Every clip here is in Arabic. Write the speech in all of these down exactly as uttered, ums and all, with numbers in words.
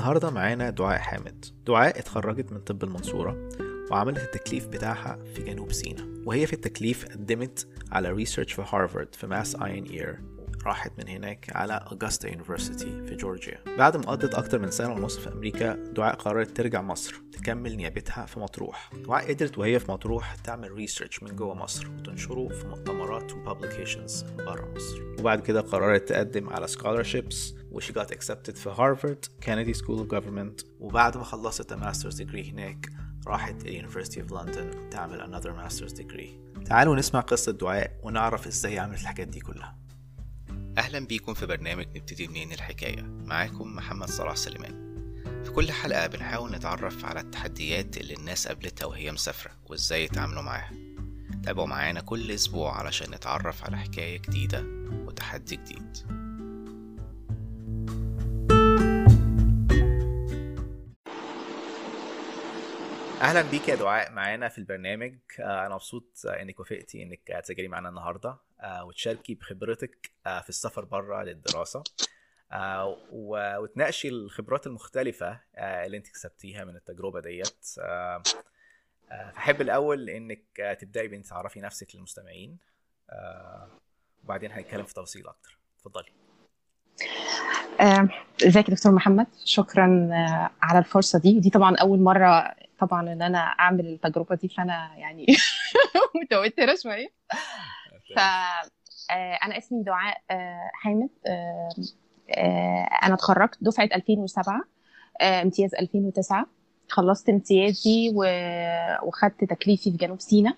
النهاردة معانا دعاء حامد. دعاء اتخرجت من طب المنصورة وعملت التكليف بتاعها في جنوب سيناء، وهي في التكليف قدمت على ريسيرش في هارفارد في ماس اين اير. راحت من هناك على أوغستا يونيفرسيتي في جورجيا. بعد ما قضت أكتر من سنة ونص في أمريكا، دعاء قررت ترجع مصر تكمل نيابتها في مطروح. دعاء قدرت وهي في مطروح تعمل ريسيرش من جوه مصر وتنشره في مؤتمرات وبابليكيشنز برا مصر، وبعد كده قررت تقدم على scholarships و she got accepted في هارفارد كينيدي سكول اوف جوفرمنت. وبعد ما خلصت ماسترز ديجري هناك راحت اليونيفرسيتي اوف لندن تعمل another ماسترز ديجري. تعالوا نسمع قصة دعاء ونعرف ازاي عملت الحاجات دي كلها. أهلا بيكم في برنامج نبتدي منين الحكاية. معاكم محمد صلاح سليمان. في كل حلقة بنحاول نتعرف على التحديات اللي الناس قابلتها وهي مسافرة وازاي يتعاملوا معاها. تابعوا معانا كل أسبوع علشان نتعرف على حكاية جديدة وتحدي جديد. اهلا بيك يا دعاء معانا في البرنامج. انا مبسوط انك وافقتي انك تسجلي معانا النهارده وتشاركي بخبرتك في السفر بره للدراسه وتناقشي الخبرات المختلفه اللي انت كسبتيها من التجربه ديت. احب الاول انك تبداي بان تعرفي نفسك للمستمعين وبعدين هنتكلم في تفاصيل اكتر. اتفضلي. ازيك يا دكتور محمد؟ شكرا على الفرصه دي. دي طبعا اول مره طبعا ان انا اعمل التجربه دي، فانا يعني متوتره شويه. فانا اسمي دعاء حامد. انا اتخرجت دفعه ألفين وسبعة، امتياز ألفين وتسعة. خلصت امتيازي وخدت تكليفي في جنوب سيناء،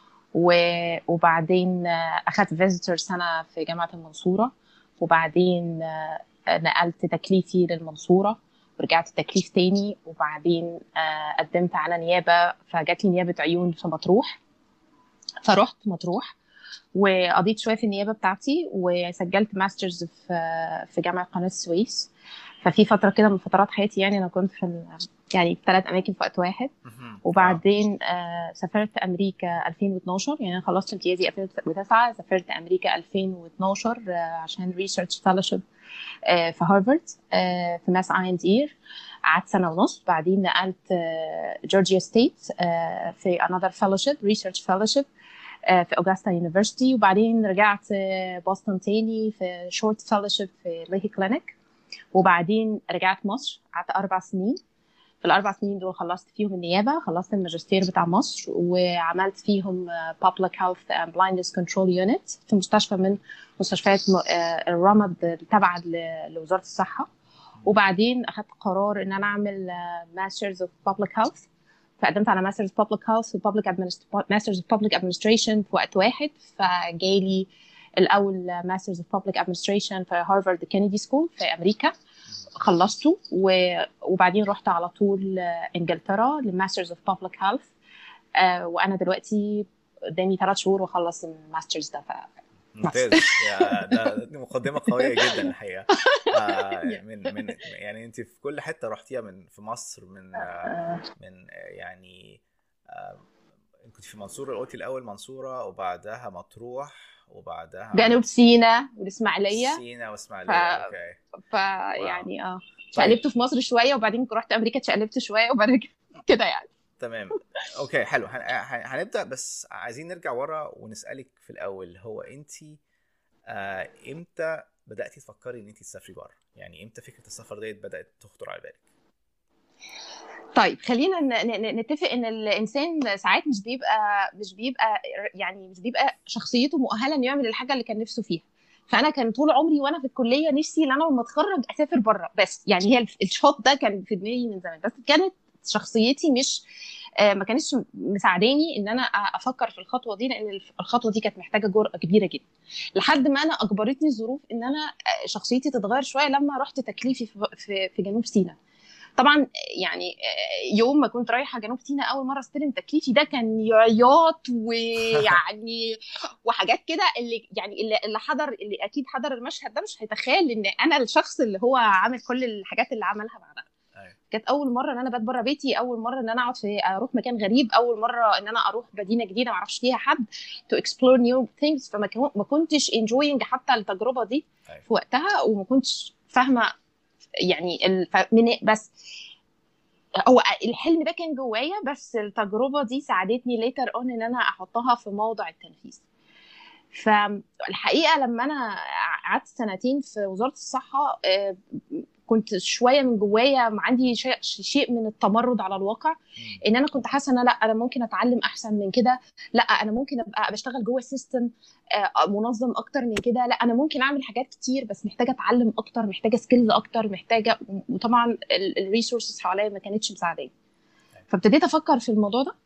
وبعدين اخدت فيزيتور سنه في جامعه المنصوره، وبعدين نقلت تكليفي للمنصورة ورجعت تكليف تاني، وبعدين قدمت على نيابة فجات لي نيابة عيون في مطروح، فرحت مطروح وقضيت شوية في النيابة بتاعتي وسجلت ماسترز في في جامعة قناة السويس. ففي فترة كده من فترات حياتي يعني أنا كنت في يعني في ثلاث أماكن في وقت واحد. وبعدين آه سافرت أمريكا ألفين واثناشر، يعني أنا خلصت امتيازي ألفين وتسعة، سافرت أمريكا ألفين واثناشر آه عشان ريسيرش فيلوشيب آه في هارفارد آه في ماس اين اير. قعدت سنة ونص، بعدين نقلت آه جورجيا ستيت آه في another fellowship research fellowship آه في أوغستا يونيفرسيتي، وبعدين رجعت آه بوسطن تاني في short fellowship في ليهي كلينيك، وبعدين رجعت مصر قعدت أربع سنين. في الأربع سنين دول خلصت فيهم النيابة، خلصت الماجستير بتاع مصر وعملت فيهم Public Health and Blindness Control Unit في مستشفى من مستشفيات الرمد التابعة لوزارة الصحة. وبعدين أخذت قرار إن أنا أعمل Masters of Public Health، فقدمت على Masters of Public Health و Public Administ- Masters of Public Administration في وقت واحد، فجالي الأول Masters of Public Administration في هارفارد كينيدي سكول في أمريكا، خلصته وبعدين رحت على طول انجلترا للماسترز اوف بابليك هيلث. وانا دلوقتي قدامي ثلاث شهور واخلص الماسترز ده. ف ممتاز. يا ده مقدمه قويه جدا الحقيقه. آه من من يعني انت في كل حته رحتيها، من في مصر، من آه من يعني آه كنت في منصوره، قلتي الاول منصوره وبعدها مطروح وبعدها جنوب سيناء والاسماعيليه. سيناء واسماعيليه. ف... اوكي. ف يعني اه شقلبت في مصر شويه، وبعدين رحت امريكا اتشقلبت شويه، وبعدين كده يعني. تمام. اوكي حلو. هن... هنبدا، بس عايزين نرجع ورا ونسالك في الاول، هو انت آه امتى بداتي تفكري ان انت تسافري بره؟ يعني امتى فكره السفر ديت بدات تخطر على بالك؟ طيب خلينا نتفق ان الانسان ساعات مش بيبقى مش بيبقى يعني مش بيبقى شخصيته مؤهله انه يعمل الحاجه اللي كان نفسه فيها. فانا كان طول عمري وانا في الكليه نفسي ان انا لما اتخرج اسافر بره، بس يعني هي الشوط ده كان في دماغي من زمان، بس كانت شخصيتي مش ما كانتش مساعداني ان انا افكر في الخطوه دي، لان الخطوه دي كانت محتاجه جرأه كبيره جدا، لحد ما انا اجبرتني الظروف ان انا شخصيتي تتغير شويه لما رحت تكليفي في في جنوب سيناء. طبعا يعني يوم ما كنت رايحه جنوب سيناء اول مره استلم تكليفي ده كان عياط ويعني وحاجات كده، اللي يعني اللي حضر اللي اكيد حضر المشهد ده مش هيتخيل ان انا الشخص اللي هو عامل كل الحاجات اللي عملها بعدها. كانت اول مره ان انا بات بره بيتي، اول مره ان انا اقعد في اروح مكان غريب، اول مره ان انا اروح مدينه جديده ما اعرفش فيها حد، to explore new things. فما ما كنتش enjoying حتى التجربه دي في وقتها، وما كنتش فاهمه يعني الف... من بس هو الحلم ده كان جوايا، بس التجربه دي ساعدتني ليتر اون ان انا احطها في موضع التنفيذ. فالحقيقه لما انا قعدت سنتين في وزاره الصحه كنت شويه من جوايا عندي شيء شيء من التمرد على الواقع، ان انا كنت حاسه ان لا انا ممكن اتعلم احسن من كده، لا انا ممكن ابقى بشتغل جوه السيستم منظم اكتر من كده، لا انا ممكن اعمل حاجات كتير بس محتاجه اتعلم اكتر، محتاجه سكيلز اكتر، محتاجه، وطبعا الريسورسز حواليا ما كانتش مساعداني. فابتديت افكر في الموضوع ده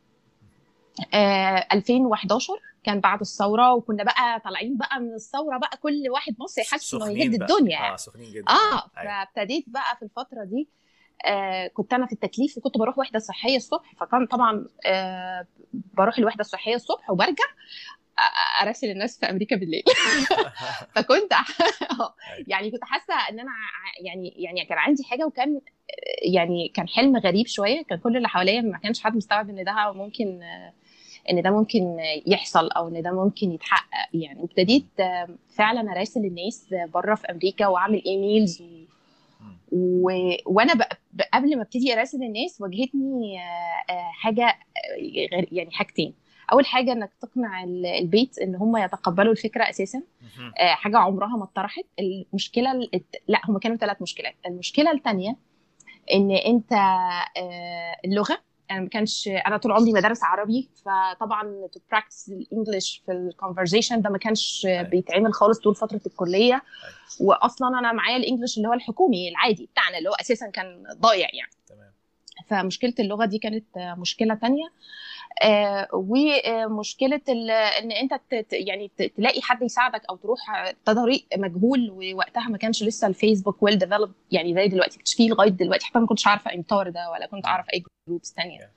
آه ألفين وحداشر، كان بعد الثوره، وكنا بقى طالعين بقى من الثوره بقى كل واحد مصري حاسس انه يهد الدنيا. اه سخنين جدا. اه فابتديت بقى في الفتره دي آه كنت انا في التكليف وكنت بروح وحده صحيه الصبح، فكان طبعا آه بروح الوحده الصحيه الصبح وبرجع اراسل الناس في امريكا بالليل. فكنت يعني كنت حاسه ان انا يعني يعني كان عندي حاجه، وكان يعني كان حلم غريب شويه، كان كل اللي حواليا ما كانش حد مستوعب ان ده ممكن ان ده ممكن يحصل او ان ده ممكن يتحقق يعني. وابتديت فعلا اراسل الناس بره في امريكا واعمل ايميلز و... و... وانا ب... قبل ما ابتدي اراسل الناس واجهتني حاجه يعني حاجتين. اول حاجه انك تقنع البيت ان هم يتقبلوا الفكره اساسا، حاجه عمرها ما اتطرحت. المشكله لا هم كانوا ثلاث مشكلات. المشكله الثانيه ان انت اللغه، انا ما كانش انا طول عمري مدرس عربي، فطبعا تو براكتس الانجليش في الكونفرزيشن ده ما كانش بيتعمل خالص طول فتره الكليه. واصلا انا معايا الانجليش اللي هو الحكومي العادي بتاعنا اللي هو اساسا كان ضايع يعني. تمام. فمشكله اللغه دي كانت مشكله تانية. آه ومشكله ان انت يعني تلاقي حد يساعدك او تروح طريق مجهول، ووقتها ما كانش لسه الفيسبوك ويل ديفلوب يعني زي دلوقتي، كنتش فيه لغايه دلوقتي، حتى ما كنتش عارفه امتار ده ولا كنت اعرف اي جروبس ثانيه.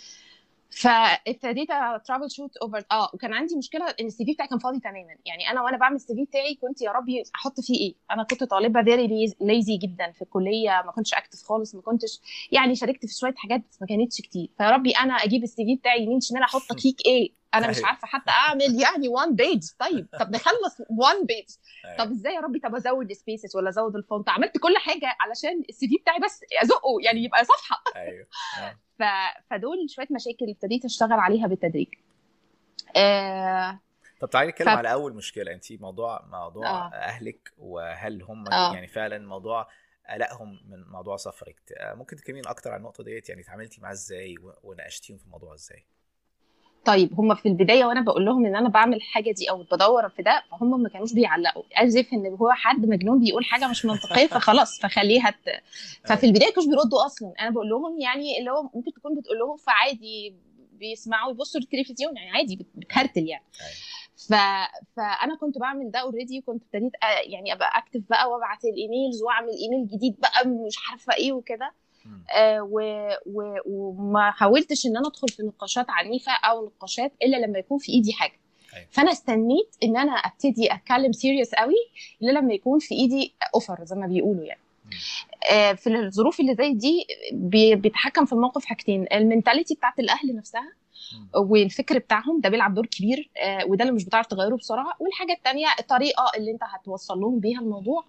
فابتديت ترافل شوت اوفر اه وكان عندي مشكله ان السي في بتاعي كان فاضي تماما. يعني انا وانا بعمل السي في بتاعي كنت يا ربي احط فيه ايه، انا كنت طالبه فيري ليزي جدا في الكليه، ما كنتش اكتف خالص، ما كنتش يعني شاركت في شويه حاجات بس ما كانتش كتير. فيا ربي انا اجيب السي في بتاعي يمين شمال احط فيك ايه، انا مش عارفه حتى اعمل يعني وان بيج. طيب طب نخلص وان بيج، طب ازاي يا ربي، طب ازود السبيسز ولا ازود الفونت، عملت كل حاجه علشان السي في بتاعي بس ازقه يعني يبقى صفحه. ايوه ف... فدول شويه مشاكل ابتديت اشتغل عليها بالتدريج. آه... طب تعالي نتكلم ف... على اول مشكله. انت موضوع موضوع آه. اهلك، وهل هم آه. يعني فعلا موضوع قلقهم من موضوع سفرك، ممكن تكلمين اكتر عن النقطه ديت؟ يعني اتعاملتي معاه ازاي وناقشتيهم في الموضوع ازاي؟ طيب هم في البدايه وانا بقول لهم ان انا بعمل حاجه دي او بدور في ده، فهم ما كانوش بيعلقوا ازف ان هو حد مجنون بيقول حاجه مش منطقيه فخلاص فخليها ت... ففي البدايه كانوا بيردوا اصلا. انا بقول لهم يعني اللي هو ممكن تكون بتقول لهم فعادي بيسمعوا يبصوا التلفزيون يعني عادي بتهرتل يعني. ف... فانا كنت بعمل ده اوريدي، كنت ابتديت يعني ابقى اكتف بقى وابعت الايميلز واعمل ايميل جديد بقى مش عارفه ايه وكده. آه و... و... وما حاولتش ان انا ادخل في نقاشات عنيفه او نقاشات الا لما يكون في ايدي حاجه. أيوة. فانا استنيت ان انا ابتدي اتكلم سيريس قوي الا لما يكون في ايدي اوفر زي ما بيقولوا يعني. آه في الظروف اللي زي دي بي... بيتحكم في الموقف حاجتين: المينتاليتي بتاعت الاهل نفسها والفكر بتاعهم ده بيلعب دور كبير، آه وده اللي مش بتعرف تغيره بسرعه، والحاجه الثانيه الطريقه اللي انت هتوصل لهم بيها الموضوع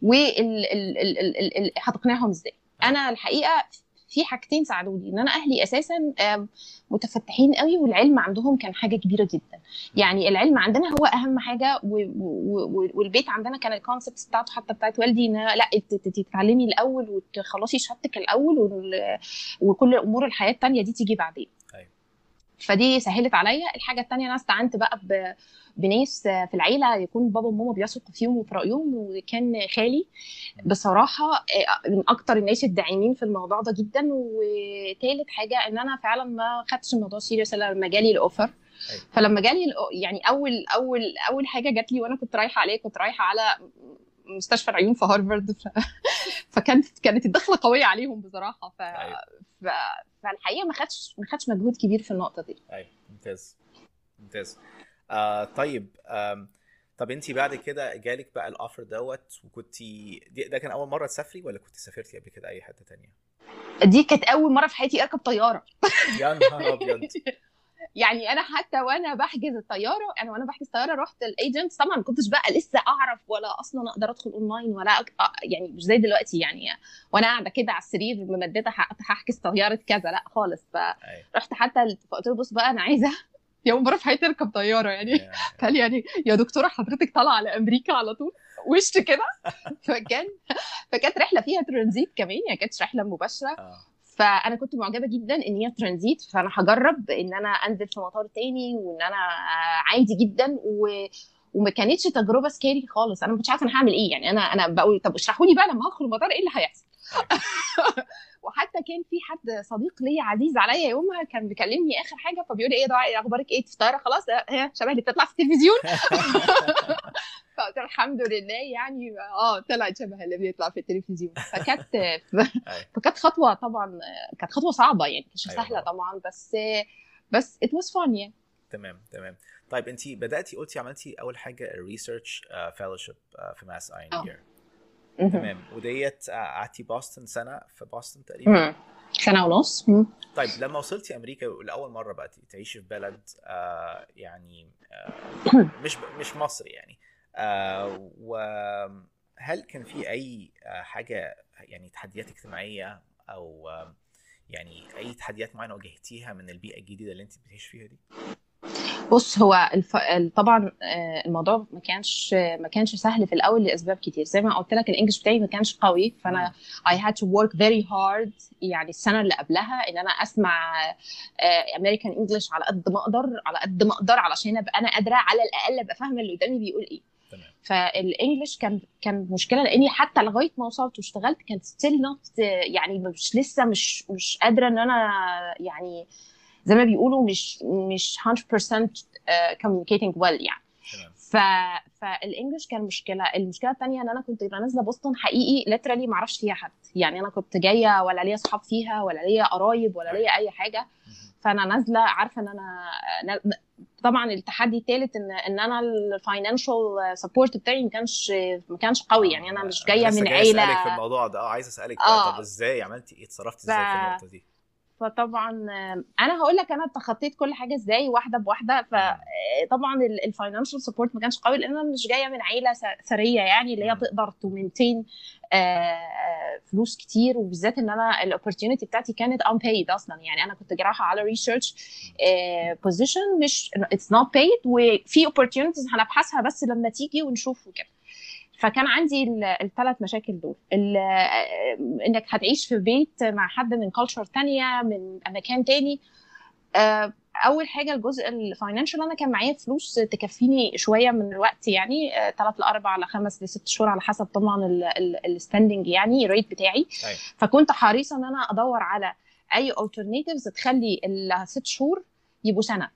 وهتقنعهم ازاي. انا الحقيقه في حاجتين ساعدوني، ان انا اهلي اساسا متفتحين قوي والعلم عندهم كان حاجه كبيره جدا. يعني العلم عندنا هو اهم حاجه، والبيت عندنا كان الكونسبت بتاعته حتى بتاعت والدي ان لا تتعلمي الاول وتخلصي شهادتك الاول وكل امور الحياه الثانيه دي تيجي بعدين. فدي سهلت عليا. الحاجه الثانيه انا استعنت بقى ب بناس في العيله يكون بابا وماما بيثقوا فيهم وفي رايهم، وكان خالي بصراحه من اكتر الناس الداعمين في الموضوع ده جدا. وثالث حاجه ان انا فعلا ما خدتش الموضوع سيريس الا لما جالي الاوفر. فلما جالي يعني اول اول اول حاجه جات لي وانا كنت رايحه عليه، كنت رايحه على مستشفى العيون في هارفارد. ف... فكانت كانت الدخله قويه عليهم بصراحه. ف... ف... فالحقيقه ما خدش ما خدش مجهود كبير في النقطه دي. ايوه ممتاز ممتاز. آه طيب آه طب انت بعد كده جالك بقى الاوفر دوت، وكنتي ده كان اول مره تسافري ولا كنت سافرتي قبل كده اي حته تانية؟ دي كانت اول مره في حياتي اركب طياره. يا نهار ابيض. يعني انا حتى وانا بحجز الطياره، انا وانا بحجز الطياره رحت الايجنت، طبعا ما كنتش بقى لسه اعرف ولا اصلا اقدر ادخل اونلاين ولا أك... يعني مش زي دلوقتي يعني وانا قاعده كده على السرير ممدده هحجز طياره كذا، لا خالص. فرحت حتى فقلت له بص بقى انا عايزه يوم مره في حياتي اركب طياره يعني. قال يعني يا دكتوره حضرتك طالعه على امريكا على طول وش كده. فكان فكانت رحله فيها ترانزيت كمان، يعني كانت رحله مباشره. فانا كنت معجبه جدا ان هي ترانزيت، فانا هجرب ان انا انزل في مطار تاني وان انا عادي جدا و... وما كانتش تجربه سكيري خالص. انا ما كنتش عارفه انا هعمل ايه يعني. انا انا بقول طب اشرحوا لي بقى لما هدخل المطار ايه اللي هيحصل. وحتى كان في حد صديق لي عزيز عليا يومها كان بيكلمني اخر حاجه، فبيقول لي ايه دعاء اخبارك ايه في الطياره؟ خلاص هي شبه اللي بتطلع في التلفزيون. فقلت الحمد لله يعني اه طلعت شبه اللي بيطلع في التلفزيون. فكانت فكانت خطوه طبعا، كانت خطوه صعبه يعني مش سهله طبعا، بس بس it was fun يعني. تمام تمام. طيب انت بداتي قلتي عملتي اول حاجه الريسيرش فيلوشيب في ماس اي ان اير. تمام. وديت قعدتي بوسطن سنه في بوسطن تقريبا سنه ونص. طيب لما وصلتي امريكا لاول مره بقى تعيشي في بلد آه يعني آه مش مش مصر يعني، آه وهل كان في اي حاجه يعني تحديات اجتماعيه او آه يعني اي تحديات معينه واجهتيها من البيئه الجديده اللي انت بتعيشي فيها دي؟ بص هو الف... طبعا الموضوع ما كانش ما كانش سهل في الاول لاسباب كتير. زي ما قلت لك الانجليش بتاعي ما كانش قوي، فانا I had to work very hard يعني السنه اللي قبلها ان انا اسمع امريكان انجلش على قد ما اقدر على قد ما اقدر علشان ابقى انا قادره على الاقل ابقى فاهمه اللي قدامي بيقول ايه. تمام. فالانجلش كان كان مشكله لاني حتى لغايه ما وصلت واشتغلت كانت ستيل نوت يعني مش لسه مش مش قادره ان انا يعني زي ما بيقولوا مش مش مية بالمية uh, communicating well يعني. ف فالانجلش كان مشكله. المشكله الثانيه ان انا كنت نازله بوسطن حقيقي ليترالي ما اعرفش فيها حد يعني. انا كنت جايه ولا ليا اصحاب فيها ولا ليا قرايب ولا ليا اي حاجه. فانا نازله عارفه ان انا طبعا التحدي الثالث ان ان انا الفاينانشال سبورت بتاعي ما كانش ما كانش قوي يعني. انا مش جايه من عيله. اسالك في الموضوع ده اه عايزه اسالك آه. طب ازاي عملتي ايه؟ اتصرفتي ازاي ف... في النقطه دي؟ فطبعا انا هقول لك انا تخطيت كل حاجه ازاي واحده بواحده. فطبعا الفاينانشال سبورت ما كانش قوي لان انا مش جايه من عيله ثريه يعني اللي هي تقدر تومنتين فلوس كتير، وبالذات ان انا الاوبورتيونيتي بتاعتي كانت unpaid اصلا يعني. انا كنت جراحه على ريسيرش بوزيشن مش اتس نوت paid، وفي opportunities هنبحثها بس لما تيجي ونشوف وكده. فكان عندي الثلاث مشاكل دول، انك هتعيش في بيت مع حد من كلتشر تانية من مكان تاني. اول حاجه الجزء الفاينانشال، انا كان معايا فلوس تكفيني شويه من الوقت يعني ثلاث لاربع لخمس لست شهور على حسب طبعا الستاندنج يعني الريت بتاعي. فكنت حريصه ان انا ادور على اي alternatives تخلي الست شهور يبقوا سنه.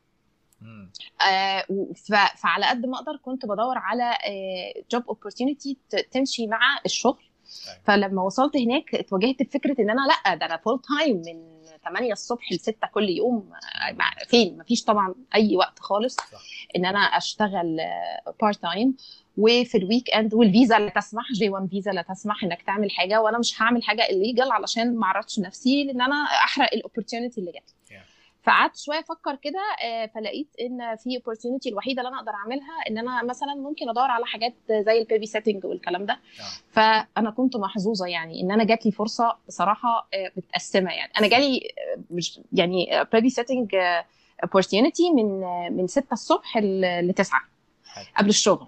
آه فعلى قد ما اقدر كنت بدور على جوب آه اوبورتيونيتي تمشي مع الشغل. فلما وصلت هناك اتواجهت بفكره ان انا لا ده انا فول تايم من ثمانية الصبح ل ستة كل يوم. آه فين مفيش طبعا اي وقت خالص ان انا اشتغل بارت تايم، وفي الويك اند والفيزا لا تسمح، جي واحد فيزا لا تسمح انك تعمل حاجه، وانا مش هعمل حاجه الليجل علشان ما اعرضش نفسي لان انا احرق الاوبورتيونيتي اللي جات. فقعدت شويه افكر كده فلقيت ان في opportunity الوحيده اللي انا اقدر اعملها ان انا مثلا ممكن ادور على حاجات زي البيبي سيتنج والكلام ده. فانا كنت محظوظه يعني ان انا جات لي فرصه بصراحه متقسمه يعني. انا جالي مش يعني بيبي سيتنج opportunity من من ستة الصبح ل تسعة قبل الشغل.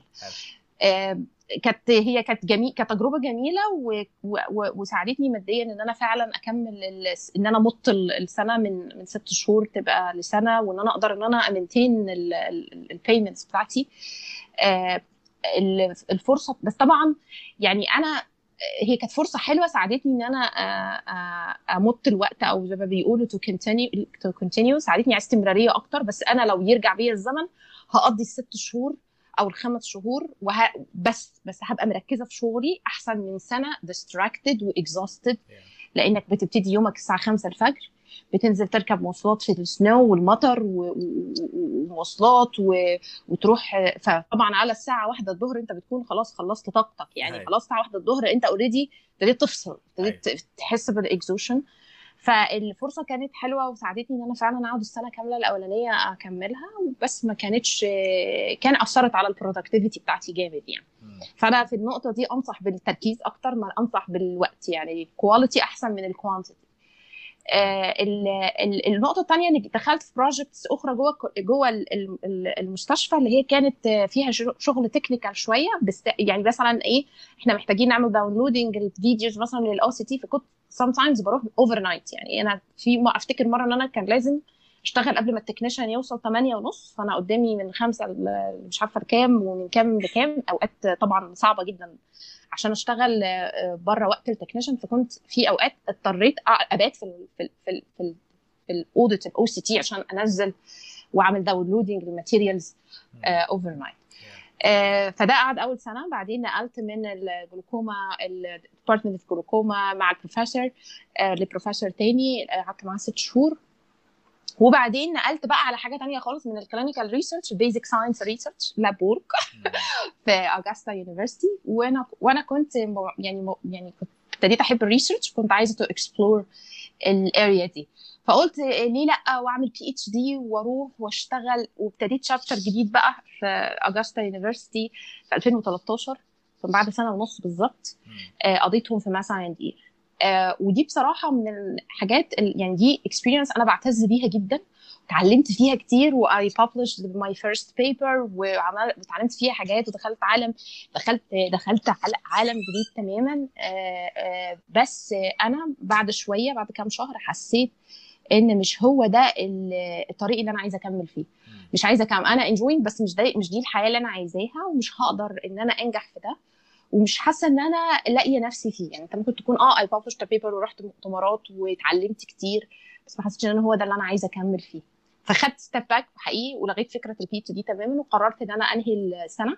كانت هي كانت جميل كانت تجربه جميله و... و... وساعدتني ماديا ان انا فعلا اكمل ال... ان انا مط السنه من من ست شهور تبقى لسنه، وان انا اقدر ان انا امنتين البيمنتس بتاعتي. آه الفرصه بس طبعا يعني انا هي كانت فرصه حلوه ساعدتني ان انا امط الوقت او زي ما بيقولوا تو كونتينيو تو كونتينيو ساعدتني على استمراريه اكتر. بس انا لو يرجع بيا الزمن هقضي الست شهور او الخمس شهور وه... بس بس هبقى مركزه في شغلي احسن من سنه distracted و exhausted. لانك بتبتدي يومك الساعه خمسة الفجر، بتنزل تركب مواصلات في السنو والمطر ومواصلات و... وتروح. فطبعا على الساعه واحدة الظهر انت بتكون خلاص خلصت طاقتك يعني. خلاص الساعه واحدة الظهر انت اوريدي ابتديت تفصل، ابتديت تحس بالاكزوشن. فالفرصه كانت حلوه وساعدتني ان انا فعلا اقعد السنه كامله الاولانيه اكملها، بس ما كانتش كان اثرت على البرودكتيفيتي بتاعتي جامد يعني. فانا في النقطه دي انصح بالتركيز اكتر ما انصح بالوقت، يعني الكواليتي احسن من الكوانتيتي. آه النقطه الثانيه اني دخلت في بروجكتس اخرى جوه جوه المستشفى اللي هي كانت فيها شغل تكنيكال شويه، بس يعني مثلا ايه، احنا محتاجين نعمل داونلودنج الفيديوز مثلا للاو سي تي، فكنت sometimes بروح اوفر نايت. يعني انا في ما افتكر مره ان انا كان لازم اشتغل قبل ما التكنيشن يوصل ثمانية ونص، فانا قدامي من خمسة مش عارفه لكام ومن كام لكام، اوقات طبعا صعبه جدا عشان اشتغل بره وقت التكنيشن. فكنت في اوقات اضطريت ابات في ال في ال في ال في, ال في الاوديت الاو سي تي عشان انزل واعمل داونلودنج للماتيريالز اوفر نايت. آه فده قعد اول سنه. بعدين نقلت من الجلوكوما الديبارتمنت اوف جلوكوما مع البروفيسور آه لبروفيسور تاني، قعدت معاه ست شهور. وبعدين نقلت بقى على حاجه تانية خالص من الكلينيكال ريسيرش، بيزك ساينس ريسيرش لاب وورك في اغستا يونيفرسيتي. وانا وانا كنت يعني يعني كنت ابتديت احب الريسيرش، كنت عايزه تو اكسبلور الاريا دي، فقلت ليه لا واعمل بي اتش دي واروح واشتغل. وابتديت شابتر جديد بقى في اغستا يونيفرسيتي في ألفين وثلاثة عشر، بعد سنه ونص بالظبط قضيتهم في ماس اي اند اي. آه ودي بصراحه من الحاجات يعني دي اكسبيرينس انا بعتز بيها جدا، اتعلمت فيها كتير. واي published my first paper وعملت اتعلمت فيها حاجات، ودخلت عالم دخلت دخلت عالم جديد تماما. آه آه بس انا بعد شويه بعد كام شهر حسيت ان مش هو ده الطريق اللي انا عايزه اكمل فيه. مش عايزه اكمل، انا enjoying بس مش ده مش دي الحياه اللي انا عايزاها، ومش هقدر ان انا انجح في ده، ومش حاسه ان انا لاقيه نفسي فيه. يعني انت ممكن تكون اه اي published a paper ورحت مؤتمرات واتعلمت كتير، بس ما حسيتش ان هو ده اللي انا عايزه اكمل فيه. فخدت ستيب باك حقيقي ولغيت فكره البي اتش دي تماما، وقررت ان انا انهي السنه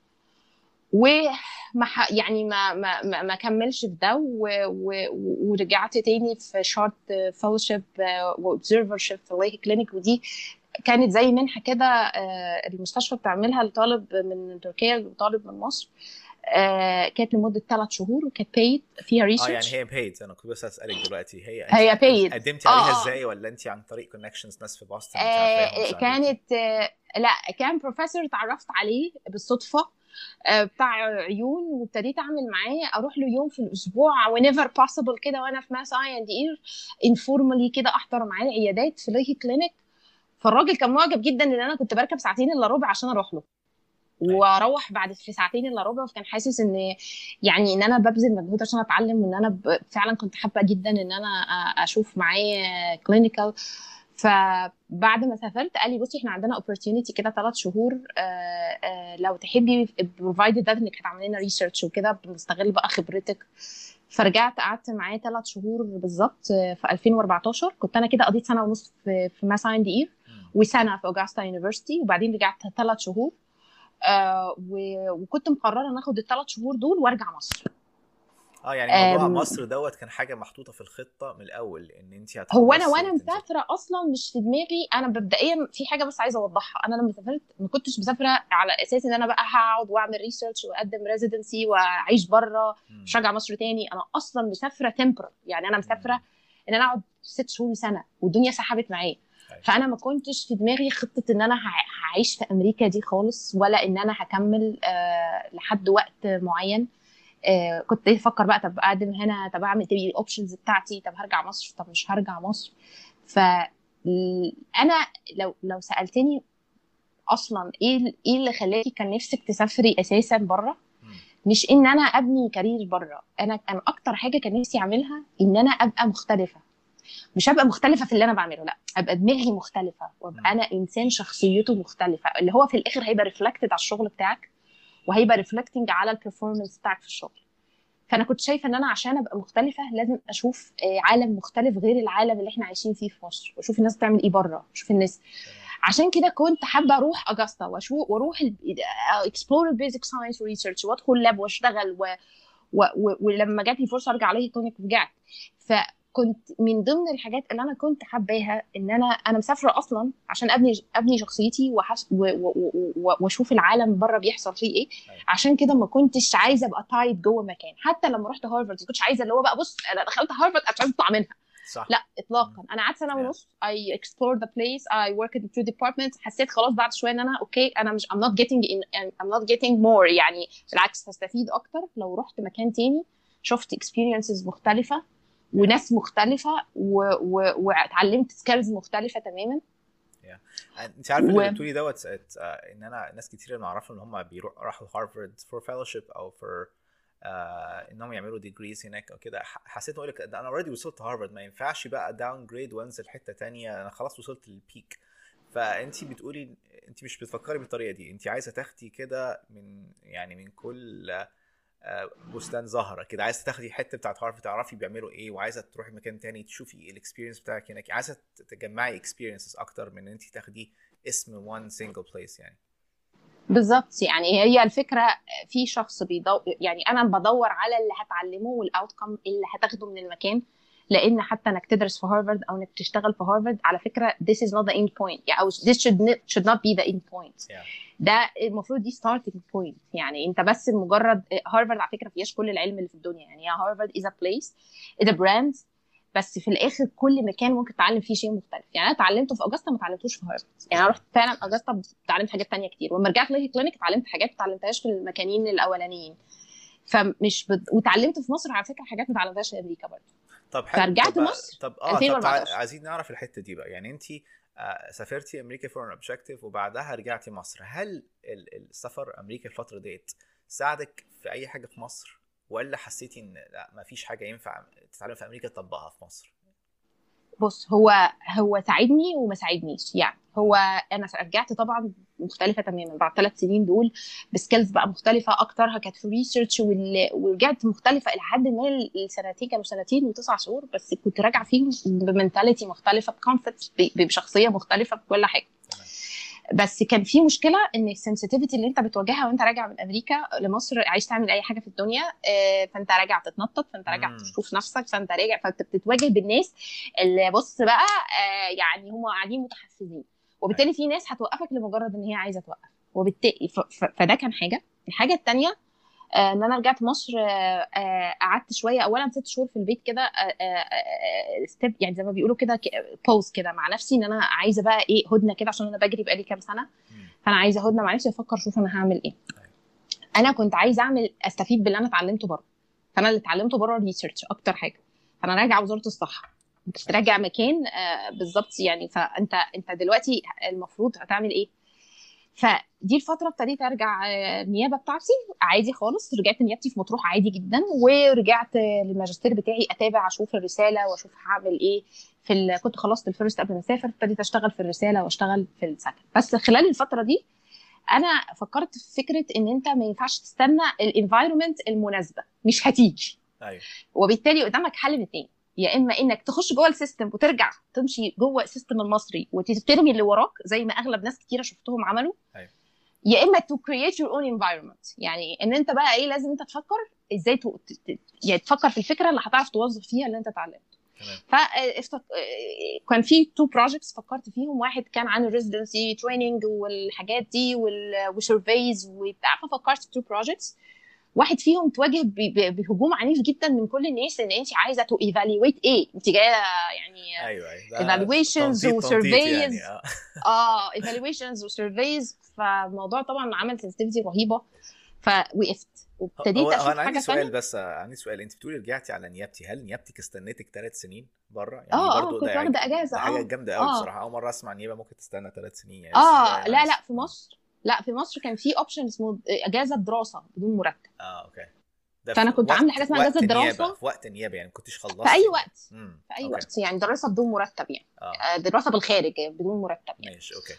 وما يعني ما ما ما, ما كملش في ده، ورجعت تاني في شورت فellowship واوبزرفرشيب في لايك كلينيك. ودي كانت زي منحه كده المستشفى بتعملها لطالب من تركيا وطالب من مصر. آه كانت لمده ثلاث شهور وكانت paid فيها ريسيرش. اه يعني هي paid. انا كنت بس اسالك دلوقتي هي هي paid قدمتي عليها آه ازاي، ولا انت عن طريق كونكشنز ناس في بوسطن آه عارفاهم؟ كانت آه لا كان بروفيسور اتعرفت عليه بالصدفه آه بتاع عيون، وابتديت اعمل معاه اروح له يوم في الاسبوع whenever possible كده، وانا في ماس اي اند اير انفورمالي كده احضر معاه العيادات في لايكي كلينيك. فالراجل كان معجب جدا ان انا كنت بركب ساعتين الا ربع عشان اروح له، واروح بعد في ساعتين الا ربع. فكان حاسس ان يعني ان انا ببذل مجهود عشان اتعلم، وان انا فعلا كنت حابه جدا ان انا اشوف معاه كلينيكال. فبعد ما سافرت قال لي بصي احنا عندنا opportunity كده ثلاث شهور آآ آآ لو تحبي provided that انك هتعملي لنا ريسيرش وكده بنستغل بقى خبرتك. فرجعت قعدت معاه ثلاث شهور بالظبط في ألفين وأربعتاشر. كنت انا كده قضيت سنه ونص في في ماس اي اند اي وسنه في اوغستا يونيفرسيتي، وبعدين رجعت ثلاث شهور. آه وكنت مقرره ان اخد الثلاث شهور دول وارجع مصر. اه يعني موضوع مصر دوت كان حاجه محطوطه في الخطه من الاول ان انت هتخلصي؟ هو انا وانا مسافره اصلا مش في دماغي. انا مبدئيا في حاجه بس عايزه اوضحها، انا لما سافرت ما كنتش مسافره على اساس ان انا بقى هقعد واعمل ريسيرش واقدم ريزيدنسي واعيش بره مش راجعه مصر تاني. انا اصلا مسافره تمبر، يعني انا مسافره ان انا اقعد ست شهور سنه والدنيا سحبت معايا. فانا ما كنتش في دماغي خطه ان انا هعيش في امريكا دي خالص، ولا ان انا هكمل آه لحد وقت معين. آه كنت بفكر بقى طب اقدم هنا، طب اعمل ايه الاوبشنز بتاعتي، طب هرجع مصر، طب مش هرجع مصر. فانا لو لو سالتني اصلا ايه ايه اللي خلاكي كان نفسك تسافري اساسا بره، مش ان انا ابني كارير بره. انا انا اكتر حاجه كان نفسي اعملها ان انا ابقى مختلفه. مش هبقى مختلفه في اللي انا بعمله، لا ابقى دماغي مختلفه، وابقى انا انسان شخصيته مختلفه، اللي هو في الاخر هيبقى ريفلكتد على الشغل بتاعك، وهيبقى ريفلكتنج على البرفورمانس بتاعك في الشغل. فانا كنت شايفه ان انا عشان ابقى مختلفه لازم اشوف عالم مختلف غير العالم اللي احنا عايشين فيه في مصر، واشوف الناس بتعمل ايه بره، اشوف الناس. عشان كده كنت حابه اروح اجستا واشوف واروح اكسبلور البيزك ساينس ريسيرش وادخل لاب واشتغل و... و... و... ولما جات لي فرصه ارجع عليه كلينيك رجعت. فكنت من ضمن الحاجات اللي انا كنت حباها ان انا انا مسافره اصلا عشان ابني ابني شخصيتي وحس... و... و... و... واشوف العالم بره بيحصل فيه ايه. عشان كده ما كنتش عايزه ابقى تايب جوه مكان. حتى لما رحت هارفارد ما كنتش عايزه اللي هو بقى بص انا دخلت هارفارد عشان اطلع منها. صح. لا اطلاقا. انا قعدت سنه ونص I explored the place, I worked in two departments. حسيت خلاص بعد شويه ان انا اوكي انا مش I'm not getting in, I'm not getting more. يعني بالعكس هستفيد اكتر لو رحت مكان تاني شفت experiences مختلفه وناس مختلفه واتعلمت سكيلز مختلفه تماما. yeah. انت عارفه اللي بتقولي دوت ان انا ناس كتير اللي اعرفهم ان هم بيروحوا راحوا هارفارد فور فيلوشيب او فور آه انهم يعملوا ديجريز هناك او كده. حسيت اقول لك انا اوريدي وصلت هارفارد ما ينفعش بقى داون جريد وانزل حته تانية، انا خلاص وصلت للبيك. فانت بتقولي انت مش بتفكري بالطريقه دي، انت عايزه تاخدي كده من يعني من كل آه بستان زهره كده، عايزه تاخدي حته بتاعت هارفارد تعرفي بيعملوا ايه، وعايزه تروحي مكان تاني تشوفي الاكسبيرينس بتاعك هناك، عايزه تجمعي اكسبيرينسز اكتر من ان انت تاخدي اسم وان سنجل بليس. يعني بالظبط. يعني هي الفكره في شخص بيدور، يعني انا بدور على اللي هتعلمه والاوتكم اللي هتاخده من المكان. لان حتى انك تدرس في هارفارد او انك تشتغل في هارفارد على فكره this is not the end point يعني او this should not, should not be the end point. yeah. ده المفروض دي starting point. يعني انت بس مجرد هارفارد على فكره فيهاش كل العلم اللي في الدنيا. يعني هارفارد is a place is a brand، بس في الاخر كل مكان ممكن تتعلم فيه شيء مختلف. يعني انا اتعلمته في اجاستا ما اتعلمتوش في هارفارد. يعني انا رحت فعلا اجاستا اتعلمت حاجات تانية كتير، ولما رجعت ليكي كلينيك اتعلمت حاجات ما اتعلمتهاش في المكانين الاولانيين. فمش بد... وتعلمت في مصر على فكره حاجات ما اتعلمتهاش في امريكا برضه. طب حلو. فرجعت طب مصر طب اه طب عايزين نعرف الحته دي بقى. يعني انت آه سافرتي امريكا فور ان اوبجكتيف وبعدها رجعتي مصر. هل السفر امريكا الفتره ديت ساعدك في اي حاجه في مصر، ولا حسيتي ان لا ما فيش حاجه ينفع تتعلم في امريكا تطبقها في مصر؟ بص هو هو ساعدني وما ساعدنيش. يعني هو انا رجعت طبعا مختلفه تماما بعد ثلاث سنين دول بسكيلز بقى مختلفه اكترها كانت في ريسيرش، ورجعت مختلفه الى حد ما. السنتين كانوا سنتين وتسع شهور بس كنت راجعه فيهم بمنتاليتي مختلفه بكونسبت بشخصيه مختلفه بكل حاجه. بس كان في مشكله ان السنسيتيفيتي اللي انت بتواجهها وانت راجع من امريكا لمصر عايز تعمل اي حاجه في الدنيا، فانت راجع تتنطط، فانت راجع تشوف نفسك، فانت راجع فانت بتتواجه بالناس اللي بص بقى يعني هم قاعدين متحفزين، وبالتالي في ناس هتوقفك لمجرد ان هي عايزه توقف. وبالتالي فده كان حاجه. الحاجه الثانيه ان انا رجعت مصر قعدت شويه، اولا ست شهور في البيت كده ستيب يعني زي ما بيقولوا كده بوز كده مع نفسي، ان انا عايزه بقى ايه هدنه كده عشان انا بجري بقالي كام سنه. فانا عايزه هدنه مع نفسي افكر اشوف انا هعمل ايه. انا كنت عايزه اعمل استفيد باللي انا اتعلمته بره. فانا اللي اتعلمته بره ريسيرش اكتر حاجه. فانا راجعه وزاره الصحه، مش راجع مكان بالظبط يعني. فانت انت دلوقتي المفروض هتعمل ايه؟ فدي الفتره ابتديت ارجع النيابه بتاعتي عادي خالص. رجعت نيابتي في مطروح عادي جدا، ورجعت للماجستير بتاعي اتابع اشوف الرساله واشوف هعمل ايه في ال... كنت خلصت الفيرست قبل ما اسافر، ابتديت اشتغل في الرساله واشتغل في السكن. بس خلال الفتره دي انا فكرت في فكره ان انت ما ينفعش تستنى الانفايرمنت المناسبه، مش هتيجي. ايوه. وبالتالي قدامك حل من اتنين، يا اما انك تخش جوه السيستم وترجع تمشي جوه السيستم المصري وترمي اللي وراك زي ما اغلب ناس كتيره شفتهم عملوا. أيوة. يا اما to create your own environment. يعني ان انت بقى ايه لازم انت تفكر ازاي ت... يعني تفكر في الفكره اللي هتعرف توظف فيها اللي انت اتعلمته. فافتك... كان في تو بروجكتس فكرت فيهم. واحد كان عن الريزيدنسي تريننج والحاجات دي والسيرفيز وبتاع، ففكرت في تو بروجكتس. واحد فيهم تواجه بهجوم عنيف جدا من كل الناس ان انت عايزه تو ايفالويت ايه، انت جايه يعني ايوه ايفالويشنز وسيرفيز يعني. اه ايفالويشنز وسيرفيز. فالموضوع طبعا عمل سنسيتيفيتي رهيبه، فوقفت وابتديت اشوف حاجه عندي سؤال ثانيه. بس عندي سؤال، انت بتقولي رجعتي على نيابتي، هل نيابتك استنيتك ثلاث سنين بره يعني؟ اه برضو اه كنت واخده اجازه. ده حاجه اه جامده قوي آه. بصراحه. اول مره اسمع نيابه ممكن تستنى ثلاث سنين يعني. اه لا لا في مصر لا في مصر كان في اوبشن اسمه اجازه دراسه بدون مرتب. اه اوكي. فانا كنت عامله حاجه اسمها اجازه دراسه في وقت نيابه يعني، ما كنتش خلصت في اي وقت. مم. في اي أوكي. وقت يعني دراسه بدون مرتب يعني. آه. دراسه بالخارج بدون مرتب يعني. ماشي اوكي.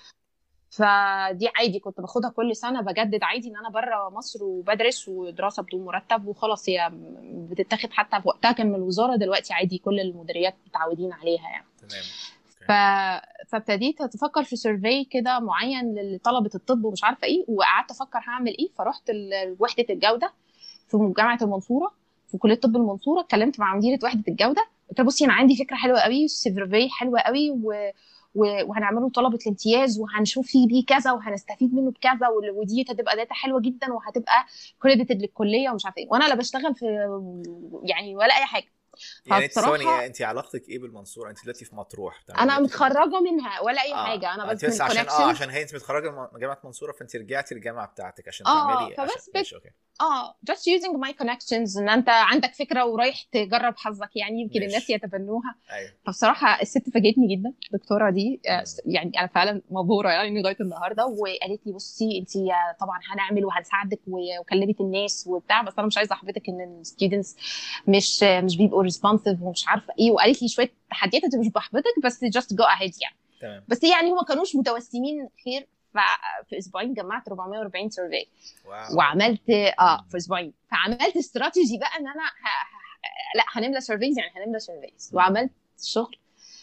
فدي عادي كنت باخدها كل سنه بجدد عادي ان انا بره مصر وبدرس ودراسه بدون مرتب وخلاص. هي بتتاخد حتى في وقتها كان من الوزاره، دلوقتي عادي كل المديريات متعودين عليها يعني. تمام. ف... فابتديت اتفكر في سيرفي كده معين لطلبه الطب ومش عارفه ايه، وقعدت افكر هعمل ايه. فرحت وحده الجوده في جامعه المنصوره في كليه طب المنصوره، اتكلمت مع مديره وحده الجوده قلت لها بصي انا عندي فكره حلوه قوي، سيرفي حلوه قوي و... وهنعمله طلبه الامتياز وهنشوف فيه بيه كذا وهنستفيد منه بكذا، ودي هتبقى داتا حلوه جدا وهتبقى كريديتد للكليه ومش عارفه ايه. وانا لا بشتغل في يعني ولا اي حاجه، يعني سونيا انت علاقتك ايه بالمنصوره؟ انت دلوقتي في مطروح. انا متخرجه منها ولا اي آه. حاجه، انا بس من عشان اه عشان هي انت متخرجه من جامعه المنصوره فانت رجعتي الجامعه بتاعتك عشان آه تعملي فبس عشان... بت... اه just using my connections ان انت عندك فكره ورايح تجرب حظك يعني يمكن الناس يتبنوها. أيوه. فبصراحه الست فاجئتني جدا الدكتوره دي، يعني انا فعلا مبهوره يعني لغايه النهارده، وقالت لي بصي انت طبعا هنعمل وهنساعدك وكلمت الناس وبتاع، بس انا مش عايزه احبطك ان الستودنتس مش مش بيبقوا ريسبونسيف ومش عارفه ايه، وقالت لي شويه تحديات انت مش بحبطك بس just go ahead يعني. تمام. بس يعني هم كانوش متوسمين خير. في اسبوعين جمعت أربعمية وأربعين سيرفي وعملت اه في اسبوعين، فعملت استراتيجي بقى ان انا ه... ه... لا هنملى سيرفيز يعني هنملى سيرفيز وعملت شغل.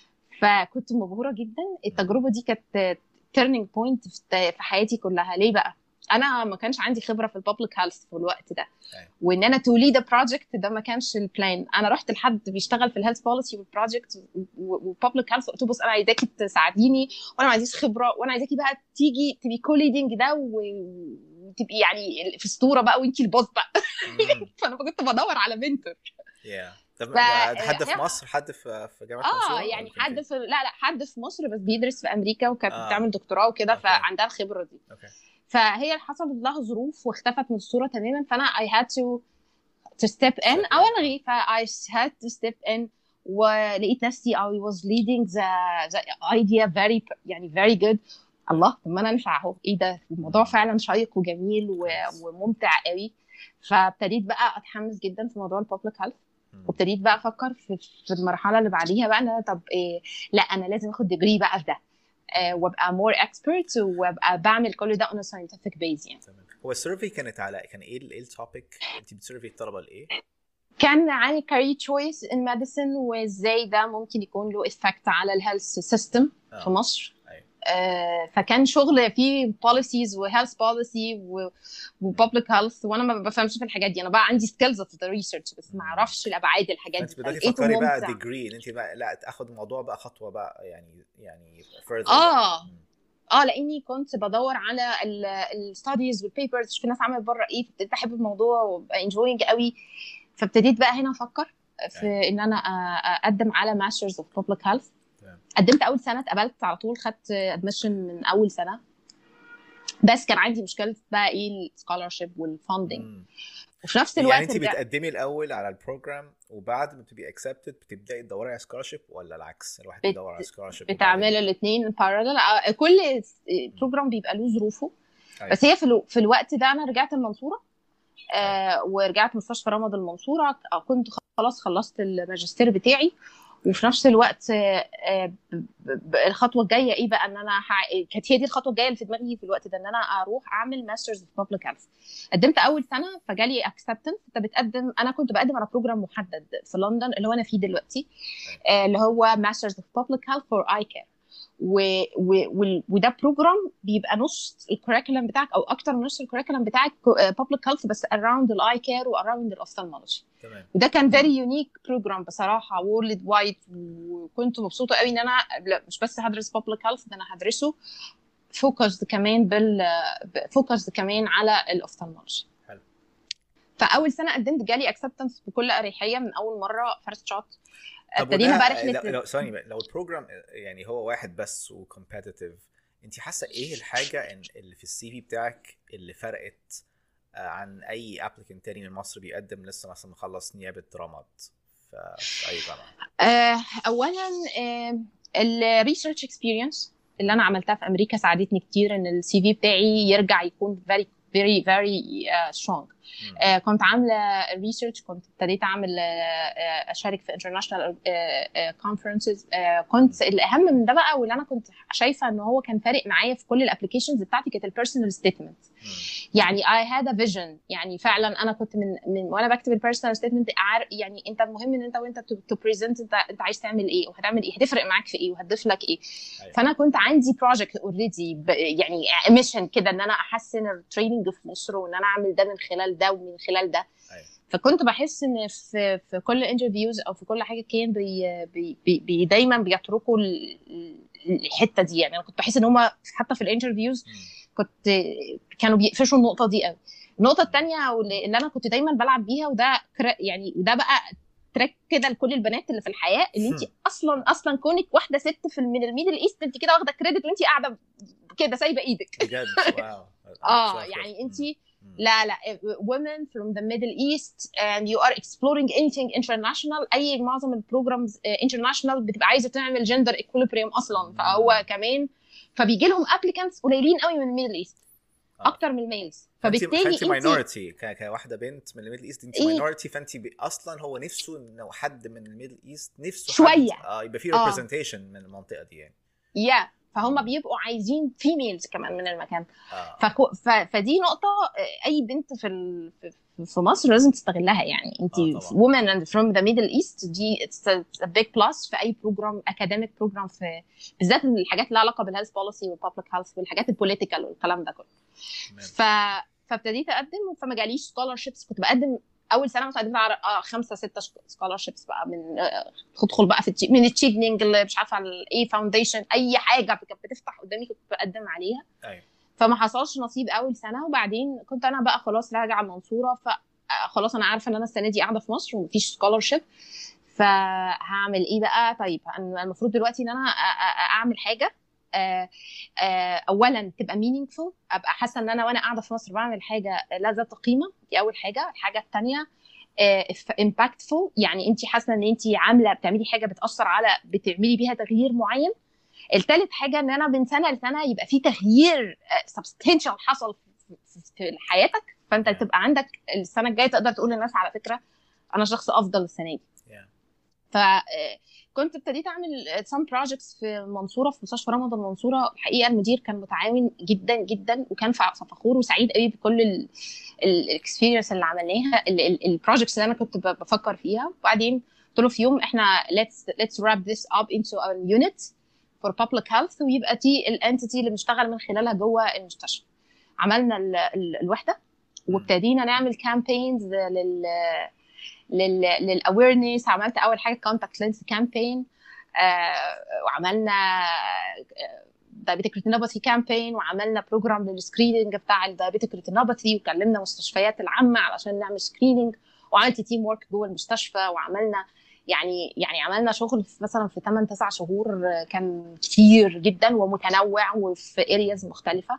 فكنت مبهوره جدا. التجربه دي كانت تيرنينج بوينت في حياتي كلها. ليه بقى؟ انا ما كانش عندي خبره في البابليك هيلث في الوقت ده، وان انا تو ليد بروجكت ده ما كانش البلان. انا رحت لحد بيشتغل في الهيلث بوليسي والبروجكت والبابليك هيلث، قلت له بص انا عايزاكي تساعديني وانا ما عنديش خبره، وانا عايزاكي بقى تيجي تبي كوليدنج ده وتبقي يعني في اسطوره بقى وانتي البوس بقى. فانا كنت بدور على منتور. yeah. طب حد في مصر، حد في في جامعه اه يعني حد في لا لا حد في مصر بس بيدرس في امريكا وكانت آه. بتعمل دكتوراه وكده، فعندها الخبره دي. اوكي. فهي حصلت لها ظروف واختفت من الصوره تماما، فانا I had to to step in او الغي. ف I had to step in ولقيت نفسي I was leading the, the idea very يعني very good. الله، طب ما انا نفع اهو، ايه ده الموضوع فعلا شيق وجميل وممتع قوي. فابتديت بقى اتحمس جدا في موضوع البابليك هيلث، وابتديت بقى افكر في في المرحله اللي بعديها بقى انا طب إيه، لا انا لازم اخد ديجري بقى في ده أه وابقى مور اكسبرت وابقى بعمل كل ده on a scientific base يعني. هو السيرفي كانت على كان ايه ايه التوبيك انت بتسيرفي الطلبه لايه؟ كان عن career choice in medicine وازاي ده ممكن يكون له effect على الهيلث سيستم في مصر. آه فكان شغل فيه policies و health policy و public health، وانا ما بفهمش في الحاجات دي. انا بقى عندي skills في الريسيرش بس ما اعرفش الابعاد الحاجات دي. انت بدأتي تفكري بقى ديجري ان انت بقى لا تاخد الموضوع بقى خطوه بقى يعني يعني further. اه اه لاني كنت بدور على الستاديز والبيبرز في ناس عملت بره ايه، فابتديت احب الموضوع وابقى انجوينج قوي. فابتديت بقى هنا افكر في يعني. ان انا اقدم على ماسترز اوف بابليك هيلث. قدمت اول سنه اتقبلت على طول، خدت ادميشن من اول سنه، بس كان عندي مشكله بقى ايه السكولارشيب والفاندنج. وفي نفس الوقت يعني انت بتقدمي الاول علل البروجرام وبعد ما تبقي اكسبتد بتبداي تدوري على سكولارشيب، ولا العكس الواحد بيدور على سكولارشيب؟ بتعمل الاثنين بارالل. كل بروجرام بيبقى له ظروفه. بس هي في, الو... في الوقت ده انا رجعت المنصوره آه ورجعت مستشفى رمض المنصوره، كنت خلاص خلصت الماجستير بتاعي. وفي نفس الوقت الخطوه الجايه ايه بقى ان انا كانت هي دي الخطوه الجايه اللي في دماغي في الوقت ده، ان انا اروح اعمل ماسترز في بابليك هيلث. قدمت اول سنه فجالي اكسبتنس. انت بتقدم، انا كنت بقدم على بروجرام محدد في لندن اللي هو انا فيه دلوقتي اللي هو ماسترز في بابليك هيلث فور اي كير، وده بروجرام بيبقى نص الكوريكولم بتاعك او اكتر من نص الكوريكولم بتاعك بابليك هيلث بس اراوند الاي كير واراوند الاوفثالمولوجي. وده كان فيري يونيك بروجرام بصراحه وورلد وايد، وكنت مبسوطه قوي ان انا مش بس هدرس بابليك هيلث، ده انا هدرسه فوكس كمان بال فوكس كمان على الاوفثالمولوجي. فاول سنه قدمت جالي اكسبتنس بكل اريحيه من اول مره فيرست شوت. ابتدينا بقى رحله لو ثاني لو البروجرام يعني هو واحد بس وكومبيتيتيف، انت حاسه ايه الحاجه اللي في السي في بتاعك اللي فرقت عن اي ابليكنت تاني من مصر بيقدم لسه مثلا مخلص نيابه رمض في اي جامعه؟ اولا الريسيرش اكسبيرينس اللي انا عملتها في امريكا ساعدتني كتير ان السي في بتاعي يرجع يكون very very very uh, strong. uh, كنت عامله ريسيرش، كنت ابتديت اعمل uh, اشارك في international uh, uh, conferences. uh, كنت الاهم من ده بقى واللي انا كنت شايفه ان هو كان فارق معايا في كل الابلكيشنز بتاعتي كانت البيرسونال ستيتمنت. يعني I had a vision، يعني فعلا انا كنت من, من وانا بكتب البيرسونال ستيتمنت يعني انت المهم ان انت وانت تو بريزنت انت انت عايز تعمل ايه وهتعمل ايه، هتفرق معاك في ايه وهتضيف لك ايه. أيوة. فانا كنت عندي بروجكت اوريدي يعني ميشن كده ان انا احسن التريننج في مصر وان انا اعمل ده من خلال ده ومن خلال ده. أيوة. فكنت بحس ان في في كل انترفيوز او في كل حاجه كان بي بي بي دايما بيتركوا الحته دي. يعني انا كنت بحس ان هم حتى في الانترفيوز كنت كانوا بيقفشوا النقطه دي قوي. النقطه الثانيه اللي انا كنت دايما بلعب بيها وده يعني وده بقى تراك كده لكل البنات اللي في الحياه، ان انت اصلا اصلا كونك واحده ست في من الميدل ايست، انت كده واخده كريدت وانت قاعده كده سايبه ايدك بجد. واو. اه يعني انت لا لا women from the Middle East and you are exploring anything international. اي معظم البروجرامز international بتبقى عايزه تعمل gender equilibrium اصلا، فهو كمان فبيجي لهم applicants قليلين قوي من الميدل ايست اكتر من الميلز. فبالتالي انت ماينورتي كواحده بنت من الميدل ايست، انت ماينورتي، فانت اصلا هو نفسه انه حد من الميدل ايست نفسه شويه اه يبقى فيه ريبريزنتيشن من المنطقه دي يعني. يا yeah. فهم بيبقوا عايزين فيميلز كمان من المكان. آه. فكو... ف... فدي نقطه اي بنت في ال... في مصر لازم تستغلها يعني. انت آه women and from the Middle East دي it's a, it's a big plus في اي بروجرام اكاديميك بروجرام، في بالذات الحاجات اللي لها علاقه بالهيلث بوليسي والبابليك هيلث والحاجات البوليتيكال والكلام ده كله. ف... فابتديت اقدم، فما جاليش سكولارشيبس. كنت بقدم اول سنه مثلا قدمت على آه خمسه سته سكولارشيبس بقى من آه تدخل بقى في من التشيفنينج اللي مش عارفه الايه فاونديشن، اي حاجه كانت بتفتح قدامي كنت بقدم عليها. ايوه. فما حصلش نصيب اول سنه، وبعدين كنت انا بقى خلاص راجعه المنصوره، فخلاص انا عارفه ان انا السنه دي قاعده في مصر ومفيش سكولارشيب، فهعمل ايه بقى؟ طيب انا المفروض دلوقتي ان انا اعمل حاجه آه آه اولا تبقى meaningful، ابقى حاسه ان انا وانا قاعده في مصر بعمل حاجه لا ذات قيمه. دي اول حاجه. الحاجه الثانيه آه impactful، يعني انت حاسه ان انت عامله بتعملي حاجه بتاثر على بتعملي بيها تغيير معين. الثالث حاجه ان انا من سنه لسنه يبقى في تغيير آه substantial حصل في, في حياتك، فانت تبقى عندك السنه الجايه تقدر تقول للناس على فكره انا شخص افضل السنه دي. ف كنت ابتديت اعمل some projects في المنصوره، في مستشفى رمضان المنصوره. الحقيقه المدير كان متعاون جدا جدا، وكان فخور وسعيد قوي بكل الاكسبيرينس اللي عملناها، البروجكتس اللي انا كنت بفكر فيها. وبعدين قلت له في يوم احنا let's let's wrap this up into our unit for public health، ويبقى دي الانتيتي اللي بنشتغل من خلالها جوه المستشفى. عملنا ال ال الوحده، وابتدينا نعمل campaigns لل لل للاويرنس. عملت اول حاجه كونتاكت لينس كامبين، وعملنا دايابيتيك ريتينوباثي كامبين، وعملنا بروجرام للسكريننج بتاع الدايابيتيك ريتينوباثي، وكلمنا مستشفيات العامه علشان نعمل سكريننج، وعملت تيم ورك جوه المستشفى، وعملنا يعني يعني عملنا شغل في مثلا في ثمانية تسعة شهور كان كتير جدا ومتنوع وفي ارياز مختلفه.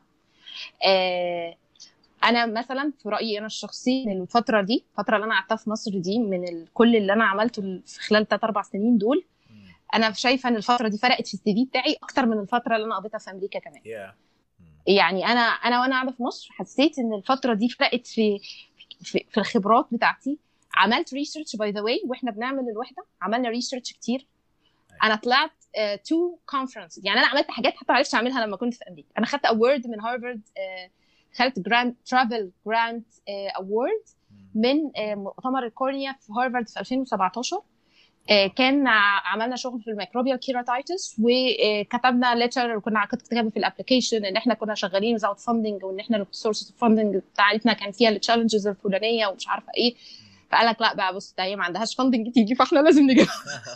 انا مثلا في رايي انا الشخصي ان الفتره دي الفتره اللي انا قعدتها في مصر دي من كل اللي انا عملته في خلال ثلاث اربع سنين دول، انا شايفه ان الفتره دي فرقت في السي في بتاعي اكتر من الفتره اللي انا قضيتها في امريكا كمان. yeah. يعني انا انا وانا قاعده في مصر حسيت ان الفتره دي فرقت في في, في الخبرات بتاعتي. عملت ريسيرش باي ذا واي واحنا بنعمل الوحده، عملنا ريسيرش كتير. انا طلعت تو uh, كونفرنس، يعني انا عملت حاجات حتى ما عرفتش اعملها لما كنت في امريكا. انا خدت اوورد من هارفارد، uh, خدت جراند ترافل جراند اوورد من uh, مؤتمر الكورنيا في هارفارد في ألفين وسبعتاشر. uh, كان عملنا شغل في الميكروبيال كيراتايتس، وكتبنا ليتر، وكنا كنت كاتبه في الابلكيشن ان احنا كنا شغالين without funding، وان احنا السورس اوف فاندنج بتاعتنا كان فيها التشالنجز الفلانيه ومش عارفه ايه. فقال لك لا بقى بص ده هي ما عندهاش فاندنج تيجي، فاحنا لازم نجيبها.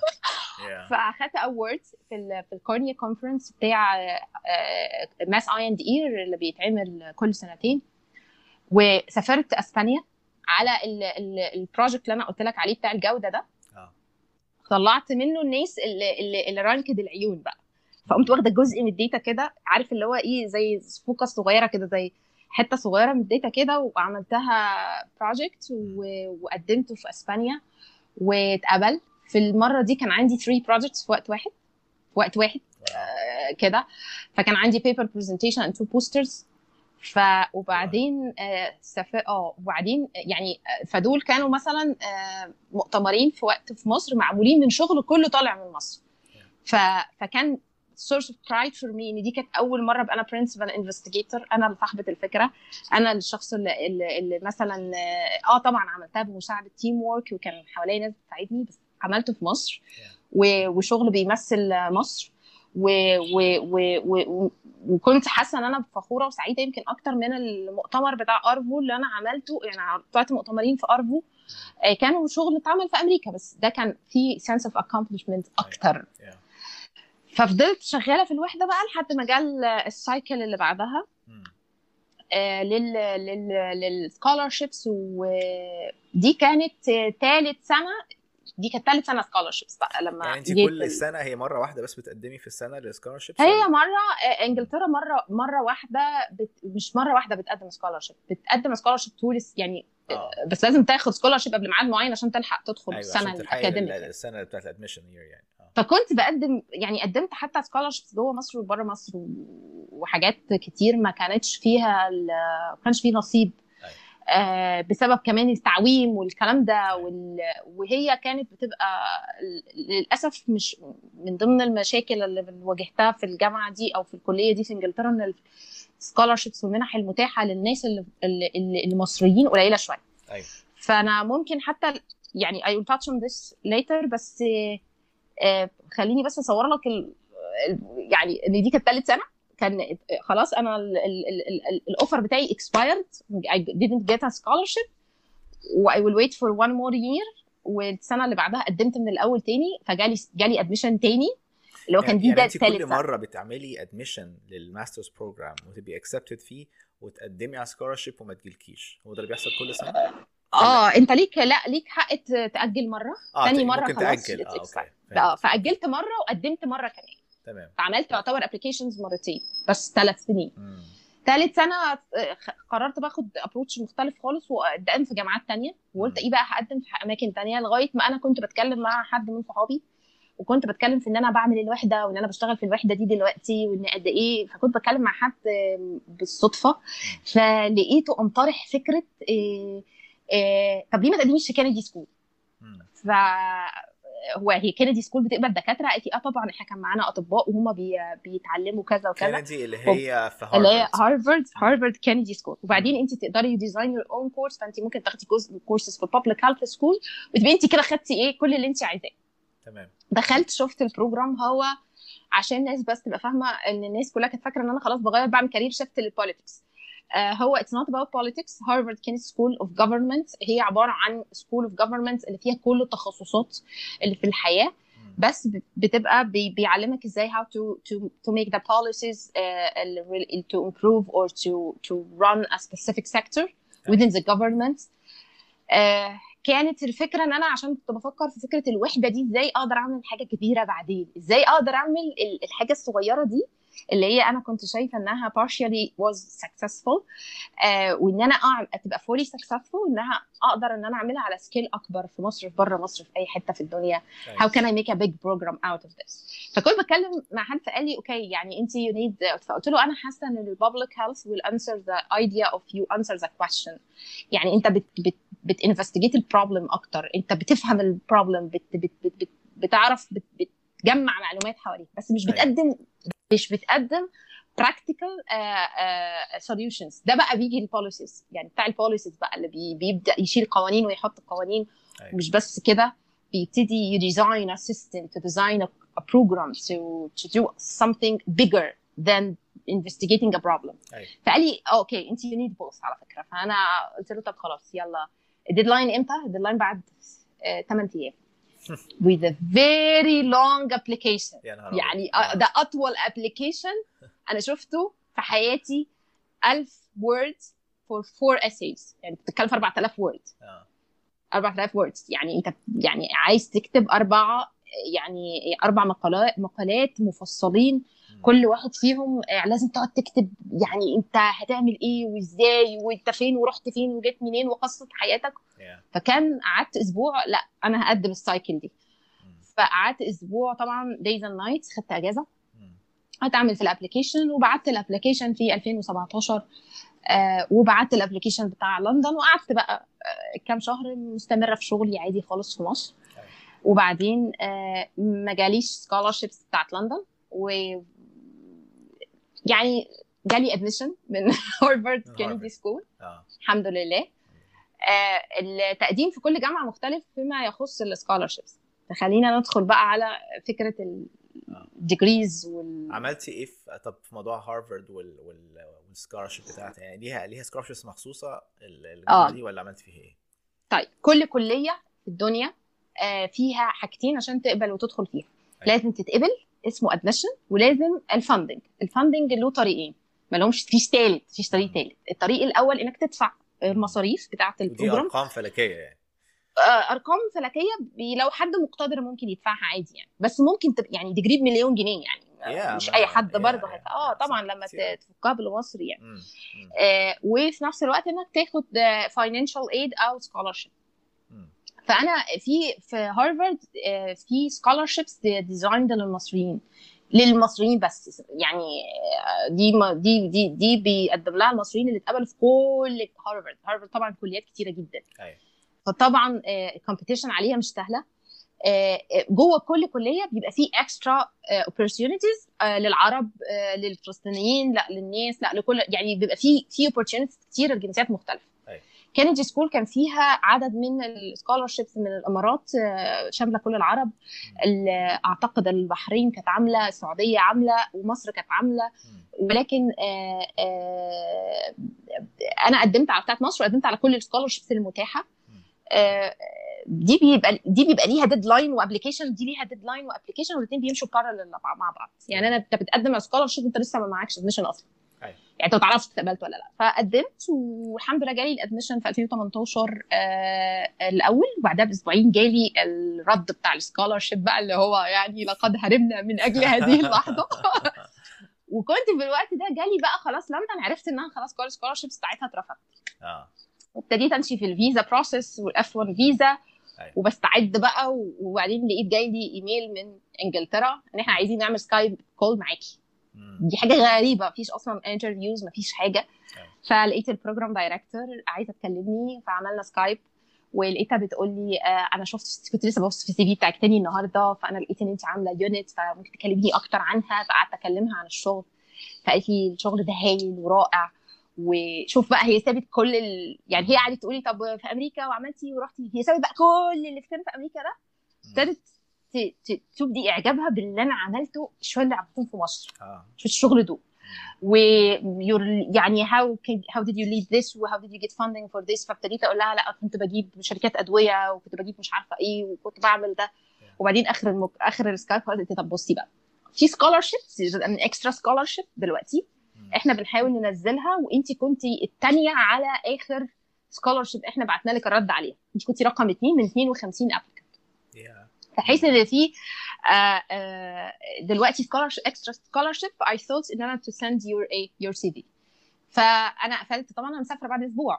فاخدت اووردز في ال في الكورنيا كونفرنس بتاع ماس اي اند اير اللي بيتعمل كل سنتين. وسافرت اسبانيا على البروجكت اللي انا قلت لك عليه بتاع الجوده ده. طلعت منه الناس اللي اللي, اللي رانكد العيون بقى. فقمت واخده جزء من الداتا كده، عارف اللي هو ايه، زي فوكس صغيره كده، زي حته صغيره من الداتا كده، وعملتها بروجكت وقدمته في اسبانيا واتقبل. في المره دي كان عندي ثلاثة بروجكتس في وقت واحد في وقت واحد آه كده. فكان عندي بيبر برزنتيشن اند تو بوسترز. ف وبعدين آه سف... اه وبعدين يعني فدول كانوا مثلا آه مؤتمرين في وقت في مصر معمولين من شغل كله طالع من مصر. ف... فكان source of pride for me ان دي كانت اول مره ابقى انا principal investigator، انا اللي صاحبه الفكره، انا الشخص اللي, اللي, اللي مثلا اه طبعا عملتها بمساعده تيم وورك وكان حواليا ناس بتساعدني، بس عملته في مصر و... وشغل بيمثل مصر و... و... و... و... وكنت حاسه ان انا فخوره وسعيده يمكن اكتر من المؤتمر بتاع ارفو اللي انا عملته. يعني طلعت مؤتمرين في ارفو كانوا شغل اتعمل في امريكا، بس ده كان في sense of accomplishment اكتر. ففضلت شغاله في الوحده بقى لحد ما جال السايكل اللي بعدها آه لل لل للسكولارشيبس، ودي كانت ثالث سنه دي كانت ثالث سنه سكولرشيبس بقى لما يعني انت جيت كل ال- سنه هي مره واحده بس بتقدمي في السنه للسكولرشيبس هي ولا؟ مره آه، انجلترا مره مره واحده بت... مش مره واحده بتقدم سكولرشيب، بتقدم سكولرشيب تورست يعني. اه بس لازم تاخد سكولرشيب قبل ميعاد معين عشان تلحق تدخل ايوه السنه عشان تلحقي ال- الاكاديميك ال- يعني. السنه بتاعت الادميشن يير يعني. اه فكنت بقدم يعني قدمت حتى سكولرشيبس جوه مصر وبره مصر و- وحاجات كتير ما كانتش فيها ال- ما كانش فيه نصيب ايوه آه، بسبب كمان التعويم والكلام ده ايوه وال... وهي كانت بتبقى ل- للاسف مش من ضمن المشاكل اللي واجهتها في الجامعه دي او في الكليه دي في انجلترا، ان السكولرشيبس والمنح المتاحه للناس اللي اللي- اللي- المصريين قليله شويه. ايوه فانا ممكن حتى يعني I will touch on this later، بس آه، خليني بس اصور لك ال... ال- يعني ان دي كانت ثالث سنه، كان خلاص انا الاوفر بتاعي expired I didn't get a scholarship و I will wait for one more year، والسنه اللي بعدها قدمت من الاول تاني فجالي جالي ادميشن تاني اللي هو كان يعني, دي يعني ده انت كل ثالث سنه. مره بتعملي ادميشن للماسترز بروجرام وتبقي اكسبتد فيه وتقدمي على سكولرشيب وما تجيلكيش، هو ده اللي بيحصل كل سنه؟ اه انت ليك لا ليك حق ت- تاجل مره، اه تاني ت- مره ممكن خلاص تاجل. it's اه اوكي expired. اه فهمت. فاجلت مره وقدمت مره كمان، تمام فعملت يعتبر ابلكيشنز مرتين بس ثلاث سنين. مم. ثالث سنه آه، قررت باخد ابروتش مختلف خالص وقدم في جامعات تانية، وقلت مم. ايه بقى هقدم في اماكن تانية، لغايه ما انا كنت بتكلم مع حد من صحابي وكنت بتكلم في ان انا بعمل الوحده وان انا بشتغل في الوحده دي دلوقتي وان قد ايه، فكنت بتكلم مع حد آه، بالصدفه فلقيته قمطرح فكره إيه إيه طب ليه ما تقدميش في كندي سكول؟ مم. ف هو هي كندي سكول بتقبل دكاتره؟ قالت لي اه طبعا احنا كان معانا اطباء وهم بي... بيتعلموا كذا وكذا. كندي اللي وب- هي في اللي هي هارفارد. هارفارد هارفارد كندي سكول، وبعدين مم. انت تقدري ديزاين يور اون كورس، فانت ممكن تاخدي جزء كورسز في بابليك هيلث سكول وتبقي انت كده خدتي ايه كل اللي انت عايزاه. تمام دخلت شفت البروجرام، هو عشان الناس بس تبقى فاهمه ان الناس كلها كانت فاكره ان انا خلاص بغير بعمل كارير شيفت للبوليتكس. آه هو it's not about politics. Harvard Kennedy School of Government هي عباره عن School of Government اللي فيها كل التخصصات اللي في الحياه، مم. بس ب- بتبقى بي- بيعلمك ازاي how to to to make the policies uh, ال- to improve or to to run a specific sector within the government. آه كانت الفكره ان انا عشان كنت بفكر في فكره الوحده دي، ازاي اقدر اعمل حاجه كبيره بعدين، ازاي اقدر اعمل ال- الحاجه الصغيره دي اللي هي انا كنت شايفه انها partially was successful، آه وان انا أعمل تبقى fully successful، انها اقدر ان انا اعملها على سكيل اكبر في مصر في بره مصر في اي حته في الدنيا. how can I make a big program out of this؟ فكنت بتكلم مع حد فقال لي اوكي يعني انت you need، فقلت له انا حاسه ان ال public health will answer the idea of you answer the question. يعني انت بت بت بتinvestigate البروبلم اكتر، انت بتفهم البروبلم، بت بت بت بت بتعرف بت بتجمع معلومات حواليك، بس مش بتقدم مش بتقدم practical uh, uh, solutions. ده بقى بيجي البوليسيز يعني بتاع البوليسيز بقى اللي بي بيبدا يشيل قوانين ويحط قوانين. أيوة. مش بس كده، بيبتدي design a system to design a, a program to to do something bigger than investigating a problem. أيوة. فقال لي اوكي انت you need both على فكره. فانا قلت له طب خلاص يلا. الديدلاين امتى؟ الديدلاين بعد ثمانية ايام with a very long application. يعني ده اطول application انا شفته في حياتي. ألف words for four essays، يعني بتتكلم في أربعة آلاف words. أربعة آلاف words يعني انت يعني عايز تكتب اربعه يعني اربع مقالات مقالات مفصلين، كل واحد فيهم لازم تقعد تكتب يعني انت هتعمل ايه وازاي وانت فين ورحت فين وجيت منين وقصه حياتك. yeah. فكان قعدت اسبوع لا انا هقدم السايكل دي. فقعدت اسبوع طبعا days and nights، خدت اجازه هتعمل في الابلكيشن، وبعت الابلكيشن في ألفين وسبعتاشر. آه وبعت الابلكيشن بتاع لندن، وقعدت بقى آه كام شهر مستمره في شغلي عادي خالص في مصر. وبعدين آه ما جاليش سكولرشيبس بتاعت لندن، و يعني جالي ادميشن من هارفارد كينيدي سكول الحمد لله. آه التقديم في كل جامعه مختلف فيما يخص السكولرشيبس. فخلينا ندخل بقى على فكره الديجريز وال عملتي ايه في طب في موضوع هارفارد وال وال والسكولرشيب بتاعتها؟ يعني ليها ليها سكولرشيبس مخصوصه الجامعه آه. دي ولا عملتي فيها ايه؟ طيب كل كليه في الدنيا آه فيها حاجتين عشان تقبل وتدخل فيها. أي. لازم تتقبل اسمه ادميشن، ولازم الفاندنج. الفاندنج له طريقين، ما لهمش فيش ثالث، فيش طريق ثالث. الطريق الاول انك تدفع المصاريف بتاعه البروجرام، دي ارقام فلكيه يعني. ارقام فلكيه لو حد مقتدر ممكن يدفعها عادي يعني، بس ممكن تبقى يعني ديجري بمليون جنيه يعني yeah, مش ما اي حد yeah, برضه yeah, هيدفع اه yeah, طبعا لما yeah. تفكها بالمصري يعني. مم. مم. آه وفي نفس الوقت انك تاخد فاينانشال ايد او سكولارشيب. فانا في في هارفارد آه في سكولارشيبس ديزايند للمصريين للمصريين بس يعني. دي دي دي دي بيقدم لها المصريين اللي اتقبلوا في كل هارفارد. هارفارد طبعا كليات كتيره جدا أيوة. فطبعا الكومبيتيشن عليها مش سهله. جوه كل كليه بيبقى فيه اكسترا اوبورتيونيتيز للعرب، للفلسطينيين، لا للناس، لا لكل يعني بيبقى فيه في اوبورتيونيتيز كتيره لجنسيات مختلفه. كينيدي سكول كان فيها عدد من السكولارشيبس من الامارات شامله كل العرب. اعتقد البحرين كانت عامله، السعوديه عامله، ومصر كانت عامله. ولكن آآ آآ انا قدمت على بتاعت مصر وقدمت على كل السكولارشيبس المتاحه. دي بيبقى دي بيبقى ليها ديدلاين وابلكيشن، دي ليها ديدلاين وابلكيشن، والاثنين بيمشوا بارلل مع بعض. يعني انا انت بتقدم على سكولارشيب انت لسه ما معكش ادميشن اصلا. يعني انت ما تعرفش اتقبلت ولا لا. فقدمت والحمد لله جالي الادميشن في ألفين وتمنتاشر آه الاول، وبعدها باسبوعين جالي الرد بتاع السكولارشيب بقى اللي هو يعني لقد هربنا من اجل هذه اللحظه. وكنت في الوقت ده جالي بقى خلاص لندن، عرفت انها خلاص كل السكولارشيبس بتاعتها اترفضت. اه وابتديت امشي في الفيزا بروسيس والاف واحد فيزا وبستعد بقى. وبعدين لقيت جاي لي ايميل من انجلترا ان احنا عايزين نعمل سكايب كول معاكي. دي حاجه غريبه، مفيش اصلا انترفيوز، مفيش حاجه. فلقيت البروجرام دايركتور عايزه تكلمني، فعملنا سكايب ولقيتها بتقول لي آه انا شفت، كنت لسه ببص في السي في بتاعك تاني النهارده، فانا لقيت ان انت عامله يونت فممكن تكلميني اكتر عنها. فقعدت اكلمها عن الشغل، فقالت لي الشغل ده هايل ورائع. وشوف بقى هي سابت كل ال... يعني هي قعدت تقولي طب في امريكا وعملتي ورحتي، هي سابت بقى كل اللي كان في امريكا ده، ابتدت تبدي اعجابها باللي انا عملته شويه اللي عملتهم في مصر في الشغل ده. و يعني how how did you lead this و how did you get funding for this. فابتديت اقول لها لا كنت بجيب شركات ادويه وكنت بجيب مش عارفه ايه وكنت بعمل ده. وبعدين اخر المك... اخر السكايب قلت طب بصي بقى في سكولارشيبس من اكسترا سكولارشيب دلوقتي احنا بنحاول ننزلها، وانتي كنتي الثانيه على اخر سكولارشيب احنا بعتنا لك الرد عليها. انت كنتي رقم اثنين من اثنين وخمسين ابليكانت. بحيث ان في آه آه دلوقتي سكولارشيب اكسترا سكولارشيب I thought ان انا to send your a your سي في. فانا قفلت طبعا، انا مسافره بعد اسبوع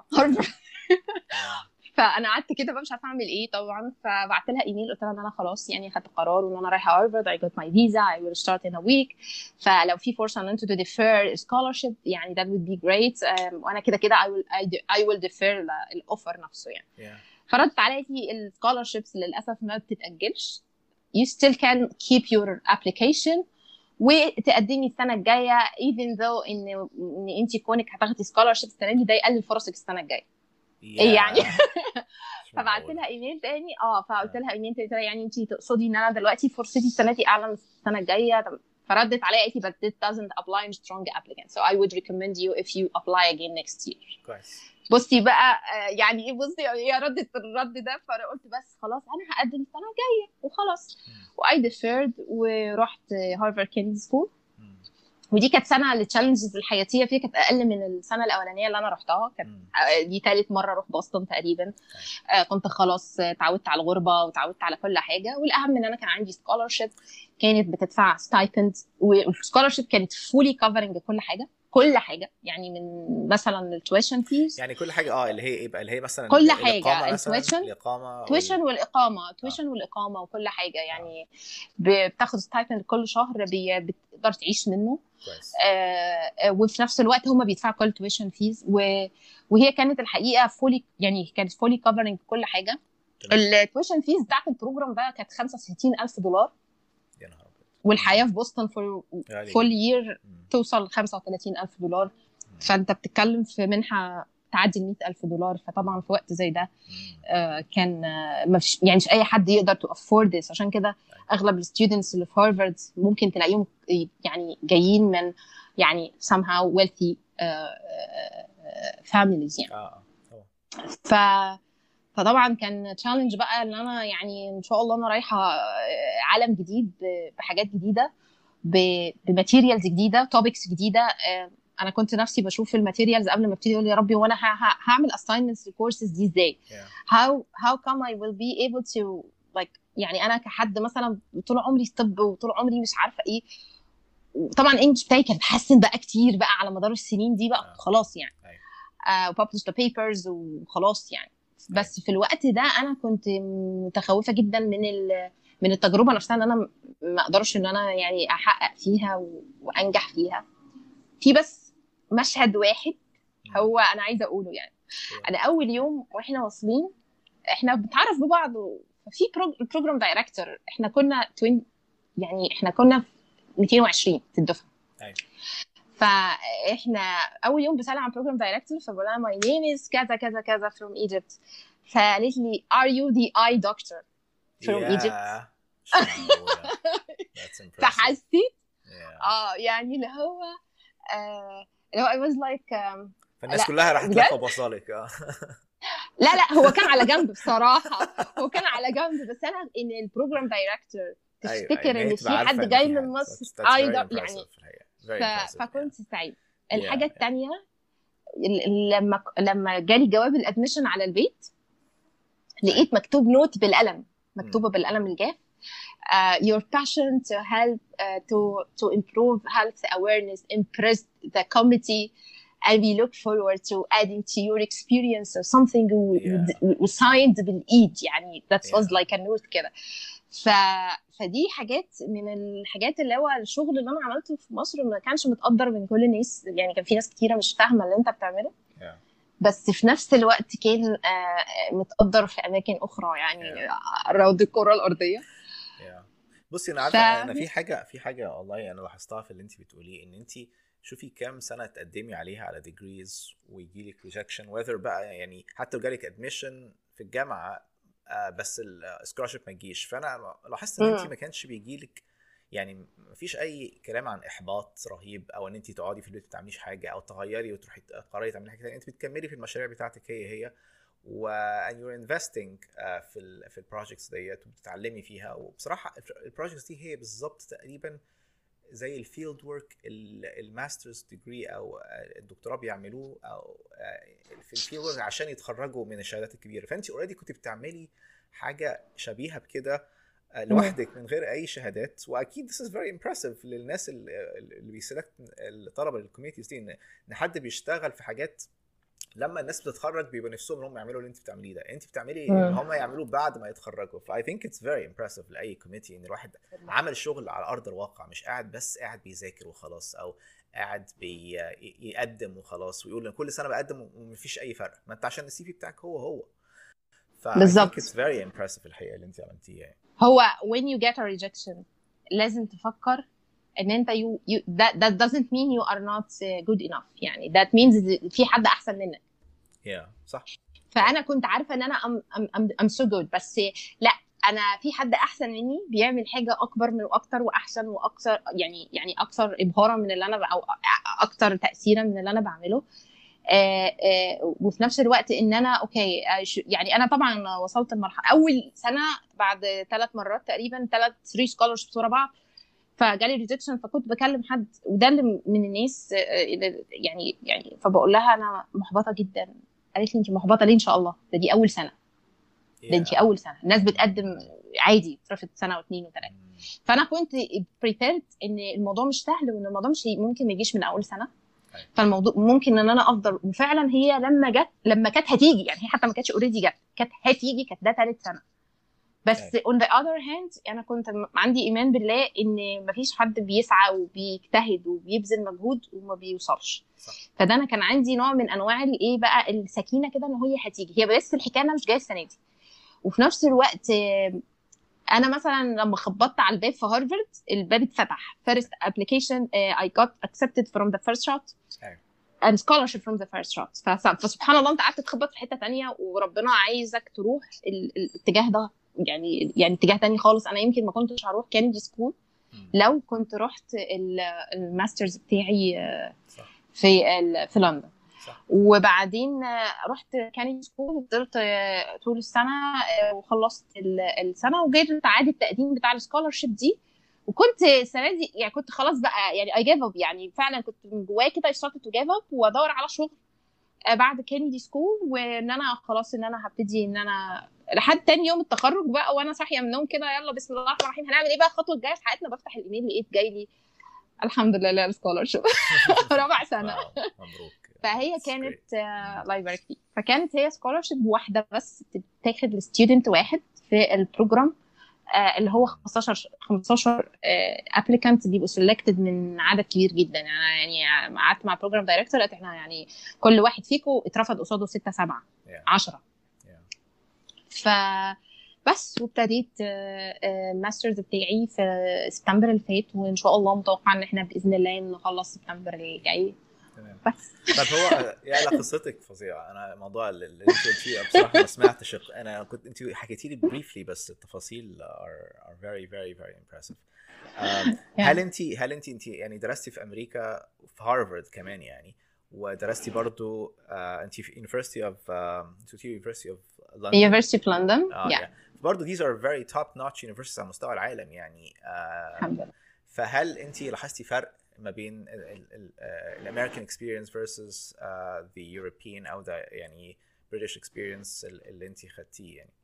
فانا قعدت كده بقى مش عارفه اعمل ايه طبعا. فبعت لها ايميل قلت لها ان انا خلاص يعني خدت قرار وان انا رايحه هارفارد. I got my visa I will start in a week. فلو في فرصه ان انتوا to defer scholarship يعني that would be great. um, وانا كده كده I will I will defer الاوفر نفسه يعني. yeah. فردت عليا السكولارشيبس للاسف ما بتتاجلش. you still can keep your application وتقدمي السنه الجايه even though ان ان انت كونك هتاخدي سكولارشيب السنه دي ده يقلل فرصك السنه الجايه. yeah. يعني فبعت لها ايميل تاني اه فقلت لها ايميل تاني يعني انت تقصدي ان انا دلوقتي فرصتي السنه دي اعلى من السنه الجايه. فردت عليا قالت لي but it doesn't apply to strong applicants so I would recommend you if you apply again next year. كويس. بصي بقى يعني ايه، بصي هي ردت الرد ده. فانا قلت بس خلاص انا هقدم السنه الجايه وخلاص. واي ديفيرد ورحت هارفارد كينيدي سكول. ودي كانت سنه التشالنجز الحياتيه فيها كانت اقل من السنه الاولانيه اللي انا رحتها. كانت دي ثالث مره اروح بوسطن تقريبا. آه كنت خلاص اتعودت على الغربه وتعودت على كل حاجه. والاهم ان انا كان عندي سكولارشيب كانت بتدفع ستايبند، والسكولارشيب كانت فولي كفرنج كل حاجه كل حاجه يعني من مثلا التويشن فيز يعني كل حاجه اه اللي هي ايه بقى اللي هي مثلا كل حاجه التويشن الاقامه تويشن والاقامه تويشن آه. والاقامه وكل حاجه يعني آه. بتاخد ستايبند كل شهر بتقدر تعيش منه. كويس. آه وفي نفس الوقت هم بيدفعوا كل تويشن فيز و... وهي كانت الحقيقه فولي يعني كانت فولي كفرنج كل حاجه. التويشن فيز بتاعت البروجرام ده كانت خمسة وستين ألف دولار. يا نهار ابيض. والحياه في بوسطن فور فول يير توصل خمسة وثلاثين ألف دولار. مم. فانت بتتكلم في منحه تعدي مئة ألف دولار. فطبعا في وقت زي ده آه كان آه مش يعني مش اي حد يقدر تو افورد ذس. عشان كده اغلب الستودنتس اللي في هارفارد ممكن تلاقيهم يعني جايين من يعني somehow wealthy uh, uh, families يعني. اه ف فطبعا كان تشالنج بقى ان انا يعني ان شاء الله انا رايحه عالم جديد بحاجات جديده بماتيريالز جديده توبكس جديده. انا كنت نفسي بشوف الماتيريالز قبل ما ابتدي اقول يا ربي وانا هعمل assignments للكورسز دي ازاي yeah. how how come I will be able to like يعني انا كحد مثلا طول عمري في طب وطول عمري مش عارفه ايه. طبعا الانجليش بتاعي كان اتحسن بقى كتير بقى على مدار السنين دي بقى آه. خلاص يعني أيوة. uh, publish the papers وخلاص يعني. بس في الوقت ده انا كنت متخوفه جدا من ال من التجربه نفسها ان انا ما اقدرش ان انا يعني احقق فيها و... وانجح فيها. في بس مشهد واحد هو انا عايزه اقوله يعني. انا اول يوم واحنا واصلين احنا بنتعرف ببعض في بروجرام دايركتور احنا كنا توين يعني احنا كنا مئتين وعشرين في الدفعه. ايوه. فاحنا اول يوم بسال عن بروجرام دايركتور فبقول لها ماي نيم از كذا كذا كذا from Egypt. فقالت لي are you the eye doctor from yeah. Egypt. That's impressive. فحسيت yeah. اه يعني اللي هو آه اللي هو I was like um, فالناس كلها راح تلف وبصالك. اه لا لا هو كان على جنب بصراحه هو كان على جنب بس انا ان البروجرام دايركتور تفتكر أيوة. ان في حد جاي من مصر ايضا يعني ف... فكنت سعيد. الحاجه yeah. الثانيه لما لما جالي جواب الادميشن على البيت لقيت مكتوب نوت بالقلم مكتوبه بالقلم الجاف uh, your passion to help uh, to to improve health awareness impressed the committee and we look forward to adding to your experience or something وsigned yeah. بالايد يعني that was yeah. like a note كده. ف فدي حاجات من الحاجات اللي هو الشغل اللي انا عملته في مصر ما كانش متقدر من كل الناس يعني. كان في ناس كتيره مش فاهمه اللي انت بتعمله yeah. بس في نفس الوقت كان متقدر في اماكن اخرى يعني yeah. روض الكره الارضيه. yeah. بصي انا عارفه ف... انا في حاجه في حاجه والله انا لاحظتها في اللي انت بتقوليه ان انت شوفي كام سنه تقدمي عليها على ديجريز ويجي لك ريجكشن وذر بقى يعني حتى لو جالك ادميشن في الجامعه آه بس السكولارشيب ما يجيش. فانا لاحظت ان انت ما كانش بيجي لك يعني ما فيش اي كلام عن احباط رهيب او ان انت تقعدي في البيت ما تعمليش حاجه او تغيري وتروحي تقرري تعملي حاجه ثانيه. انت بتكملي في المشاريع بتاعتك هي هي و and you're investing uh, في ال في البروجكتس ديت وبتتعلمي فيها. وبصراحه البروجكتس دي هي بالظبط تقريبا زي الفيلد ورك الماسترز ديجري او الدكتوراه بيعملوه او في الفيلد ورك عشان يتخرجوا من الشهادات الكبيره. فانت اوريدي كنت بتعملي حاجه شبيهه بكده لوحدك من غير اي شهادات. واكيد this is very impressive للناس اللي بيسلكت الطلبه للكوميونيتيز دي ان حد بيشتغل في حاجات لما الناس بتتخرج بيبقى نفسهم انهم يعملوا اللي انت بتعمليه ده. انت بتعملي اللي هم يعملوه بعد ما يتخرجوا. ف I think it's very impressive لاي كوميتي ان الواحد عمل شغل على ارض الواقع مش قاعد بس قاعد بيذاكر وخلاص او قاعد بيقدم وخلاص ويقول كل سنه بقدم ومفيش اي فرق. ما انت عشان السي في بتاعك هو هو. ف I think it's very impressive الحقيقه اللي انت عملتيه. هو when you get a rejection لازم تفكر ان انت you, you that, that doesn't mean you are not good enough يعني that means في حد احسن منك. yeah صح. فانا كنت عارفه ان انا I'm, I'm, I'm so good بس لا انا في حد احسن مني بيعمل حاجه اكبر من واكتر واحسن واكثر يعني يعني اكثر ابهارا من اللي انا او اكثر تاثيرا من اللي انا بعمله. آه آه وفي نفس الوقت ان انا اوكي آه يعني انا طبعا وصلت المرحله اول سنه بعد ثلاث مرات تقريبا ثلاث ثري سكولرشيبس ورا بعض فجالي ريجكشن. فكنت بكلم حد وده اللي من الناس يعني يعني فبقول لها انا محبطه جدا. قالت لي انت محبطه ليه؟ ان شاء الله ده دي اول سنه ده انت اول سنه الناس بتقدم عادي ترفض سنه واثنين وثلاثه. فانا كنت بريبيرد ان الموضوع مش سهل وان الموضوع مش ممكن ما يجيش من اول سنه. فالموضوع ممكن ان انا افضل وفعلا هي لما جت لما كانت هتيجي يعني هي حتى ما كانتش اوريدي جت كانت هتيجي كانت ده ثالث سنه بس on the other hand انا كنت عندي ايمان بالله ان مفيش حد بيسعى وبيجتهد وبيبذل مجهود وما بيوصلش. فده انا كان عندي نوع من انواع الايه بقى السكينه كده ان هي هتيجي. هي بس الحكايه انا مش جايه السنه دي. وفي نفس الوقت انا مثلا لما خبطت على الباب في هارفارد الباب اتفتح first application uh, I got accepted from the first shot and scholarship from the first shot. فسبحان الله انت قعدت تخبط في حته تانية وربنا عايزك تروح الاتجاه ده يعني يعني اتجاه تاني خالص. انا يمكن ما كنتش هروح كينيدي سكول لو كنت رحت الماسترز بتاعي في في لندن. وبعدين رحت كينيدي سكول وفضلت طول السنه وخلصت السنه وجيت عاد التقديم بتاع السكولرشيب دي وكنت السنه دي يعني كنت خلاص بقى يعني اي جيف اب، يعني فعلا كنت من جوايا كده اشتغلت تو جيف اب وادور على شغل بعد كينيدي سكول، وان انا خلاص ان انا هبتدي ان انا لحد تاني يوم التخرج بقى وانا صاحيه من النوم كده، يلا بسم الله الرحمن الرحيم هنعمل ايه بقى الخطوه الجايه في حياتنا. بفتح الايميل لقيت جاي لي الحمد لله السكولرشيب رابع سنه. مبروك. فهي كانت الله يبارك فيك، فكانت هي سكولرشيب واحده بس بتاخد لستودنت واحد في البروجرام اللي هو خمستاشر خمستاشر ابليكانت بيبقوا سيلكتد من عدد كبير جدا. يعني يعني قعدت مع البروجرام دايركتور قالت احنا يعني كل واحد فيكم اترفض قصاده ستة سبعة عشرة. ف بس وابتديت الماسترز بتاعي في سبتمبر اللي فات، وان شاء الله متوقع ان احنا باذن الله نخلص سبتمبر اللي جاي. تمام. بس طب هو يعني قصتك فظيعه. انا موضوع اللي انت قلتيه بصراحه ما سمعتش، انا كنت انت حكيتي لي بريفلي بس التفاصيل are, are very very very impressive. um, هل انت هل انت انت يعني درستي في امريكا في هارفارد كمان يعني، ودرستي برضو uh, انت في University of uh, University of London University of London آه, yeah. yeah. برضو these are very top notch universities على مستوى العالم يعني. uh, الحمد لله. فهل انت لاحظتي فرق ما بين الامريكان اكسبيرينس versus uh, the European او the يعني British experience اللي انت خدتيه يعني؟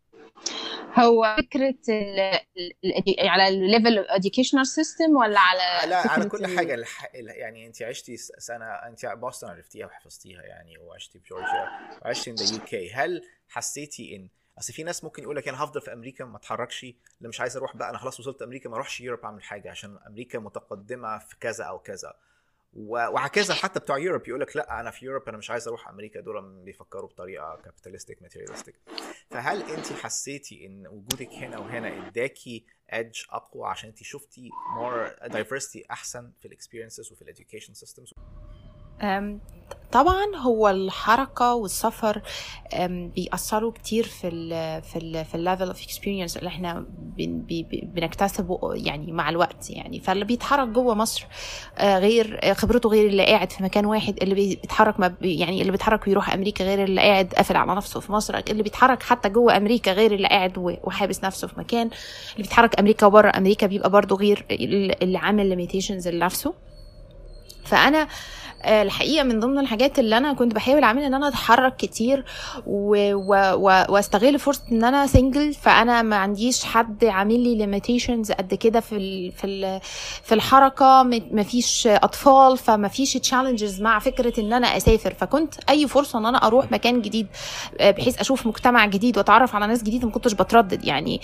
هو فكره ال ال على الليفل educational system ولا على لا على كل حاجه الح... يعني انت عشتي سنه، انت بوسطن عرفتيها وحفظتيها يعني، وعشتي في جورجيا وعشتي في اليو كي. هل حسيتي ان اصل في ناس ممكن يقول لك انا هفضل في امريكا ما اتحركش، اللي مش عايز اروح بقى انا خلاص وصلت امريكا ما اروحش يوروب اعمل حاجه عشان امريكا متقدمه في كذا او كذا، وهكذا حتى بتوع يوروب يقول لك لا انا في يوروب انا مش عايز اروح امريكا، دول بيفكروا بطريقه كابيتالستيك ماتيريالستيك. فهل انت حسيتي ان وجودك هنا وهنا اداكي ايدج اقوى عشان انت شفتي more diversity احسن في الاكسبيرينسز وفي الاديوكيشن سيستمز؟ طبعا هو الحركه والسفر بيأثروا كتير في ال في ال في الليفل اوف اكسبيرينس اللي احنا بنكتسبه يعني مع الوقت يعني. فاللي بيتحرك جوه مصر غير خبرته غير اللي قاعد في مكان واحد، اللي بيتحرك يعني اللي بيتحرك ويروح امريكا غير اللي قاعد قافل على نفسه في مصر، اللي بيتحرك حتى جوه امريكا غير اللي قاعد وحابس نفسه في مكان، اللي بيتحرك امريكا وبره امريكا بيبقى برضو غير اللي عامل ليميتيشنز لنفسه. فانا الحقيقه من ضمن الحاجات اللي انا كنت بحاول اعملها ان انا اتحرك كتير و... و... واستغل فرصه ان انا سنجل، فانا ما عنديش حد عامل لي ليميتيشنز قد كده في ال... في ال... في الحركه، ما فيش اطفال، فما فيش تشالنجز مع فكره ان انا اسافر. فكنت اي فرصه ان انا اروح مكان جديد بحيث اشوف مجتمع جديد واتعرف على ناس جديده ما كنتش بتردد يعني.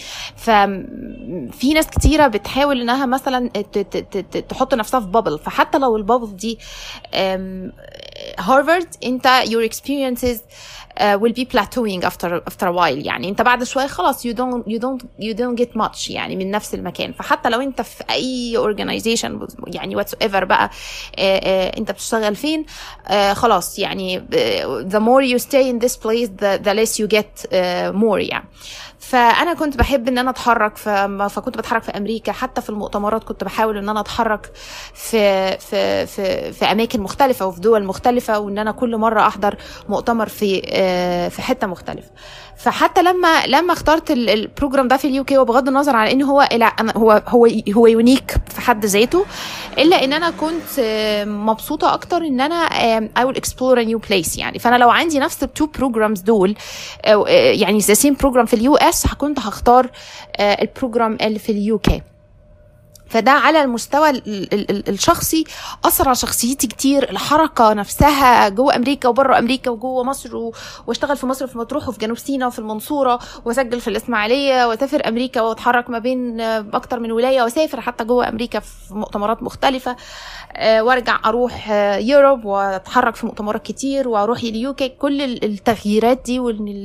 ففي ناس كتيره بتحاول انها مثلا ت... ت... ت... تحط نفسها في بابل، فحتى لو البابل دي هارفارد انت your experiences uh, will be plateauing after after a while يعني. انت بعد شويه خلاص you don't you don't you don't get much يعني من نفس المكان. فحتى لو انت في اي organization يعني whatsoever بقى uh, uh, انت بتشتغل فين uh, خلاص يعني uh, the more you stay in this place the, the less you get uh, more يعني. فانا كنت بحب ان انا اتحرك، فكنت بتحرك في امريكا، حتى في المؤتمرات كنت بحاول ان انا اتحرك في في في في اماكن مختلفه وفي دول مختلفه، وان انا كل مره احضر مؤتمر في في حته مختلفه. فحتى لما لما اخترت البروجرام ده في اليو كي، وبغض النظر عن ان هو هو هو هو يونيك في حد ذاته، الا ان انا كنت مبسوطه اكتر ان انا I will explore a new place يعني. فانا لو عندي نفس التو بروجرامز دول يعني the same program في اليو اس، كنت هختار البروجرام اللي في اليو كي. فده على المستوى الشخصي أثر على شخصيتي كتير. الحركة نفسها جوه أمريكا وبره أمريكا وجوه مصر، واشتغل في مصر في مطروح وفي جنوب سيناء وفي المنصورة، واسجل في الإسماعيلية، واسافر أمريكا واتحرك ما بين أكتر من ولاية، واسافر حتى جوه أمريكا في مؤتمرات مختلفة، وارجع أروح يوروب واتحرك في مؤتمرات كتير، واروح اليو كي. كل التغييرات دي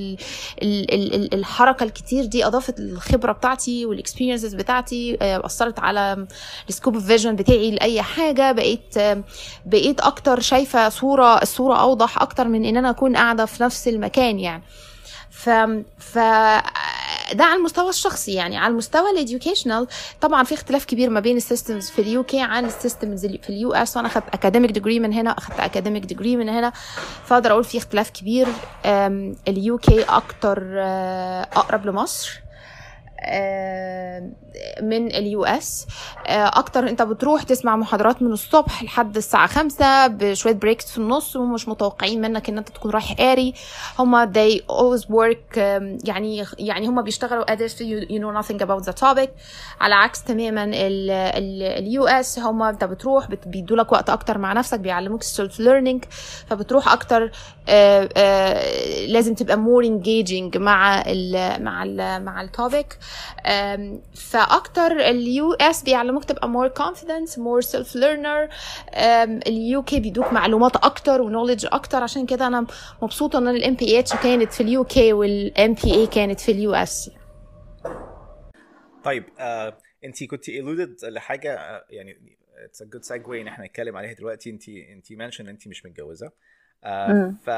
والحركة الكتير دي أضافت الخبرة بتاعتي والإكسبيرينسز بتاعتي، أثرت على السكوب اوف فيجن بتاعي لاي حاجه. بقيت بقيت اكتر شايفه صوره الصوره اوضح اكتر من ان انا اكون قاعده في نفس المكان يعني. ف ف ده على المستوى الشخصي يعني. على المستوى الاديوكيشنال طبعا في اختلاف كبير ما بين السيستمز في اليو كي عن السيستمز في اليو اس، وانا اخذت اكاديميك ديجري من هنا، اخذت اكاديميك ديجري من هنا، فاقدر اقول في اختلاف كبير. اليو كي اكتر اقرب لمصر، من اليو اس. اكتر انت بتروح تسمع محاضرات من الصبح لحد الساعه خمسة بشويه بريكس في النص، ومش متوقعين منك ان انت تكون رايح قاري. هما they always work يعني يعني هما بيشتغلوا as if you, you know nothing about the topic، على عكس تماما اليو اس. هما انت بتروح بيدوا لك وقت اكتر مع نفسك، بيعلموك السيلف ليرنينج، فبتروح اكتر. آآ آآ لازم تبقى more engaging مع ال مع ال مع التوبيك. فاكتر اليو اس بيعلموك تبقى more confident more self learner. اليو كي بيدوك معلومات اكتر ونوليدج اكتر، عشان كده انا مبسوطه ان الام بي اتش كانت في اليو كي والام بي اي كانت في اليو اس. طيب آه، انت كنت alluded لحاجه آه، يعني it's a good segue ان احنا نتكلم عليها دلوقتي. انت انت منشن انت مش متجوزه، آه ف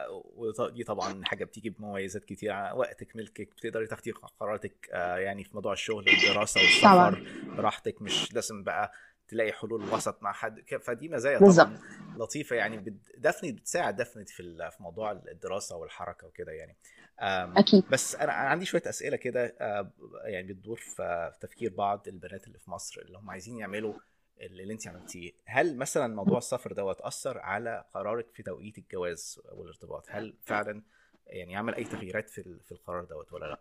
ودي طبعا حاجه بتيجي بمميزات كتير، وقتك ملكك، بتقدري تاخدي قراراتك آه يعني في موضوع الشغل والدراسه والسفر براحتك، مش لازم بقى تلاقي حلول وسط مع حد. فدي مزايا طبعا لطيفه يعني، دفني بتساعد دفني في في موضوع الدراسه والحركه وكده يعني. أكيد. بس انا عندي شويه اسئله كده يعني بتدور في تفكير بعض البنات اللي في مصر اللي هم عايزين يعملوا اللي انت عملتيه. هل مثلا موضوع السفر دوت اثر على قرارك في توقيت الجواز والارتباط؟ هل فعلا يعني عمل اي تغييرات في في القرار دوت ولا لا؟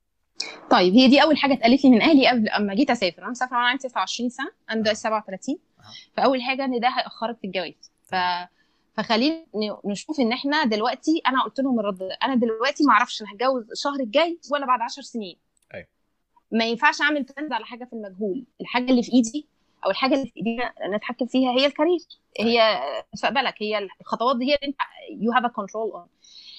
طيب هي دي اول حاجه اتقالت لي من اهلي قبل اما جيت اسافر. انا مسافره وانا عندي تسعة وعشرين سنه، انا دلوقتي سبعة وثلاثين. فاول حاجه ان ده هياخرك في الجواز. ف فخلينا نشوف ان احنا دلوقتي، انا قلت لهم الرد ده، انا دلوقتي ما اعرفش انا هتجوز الشهر الجاي ولا بعد عشر سنين. ايوه ما ينفعش اعمل بلانز على حاجه في المجهول. الحاجه اللي في ايدي او الحاجه اللي في ايدينا نتحكم فيها هي الكارير، هي مستقبلك، هي الخطوات دي هي اللي انت يو هاف ا كنترول اون.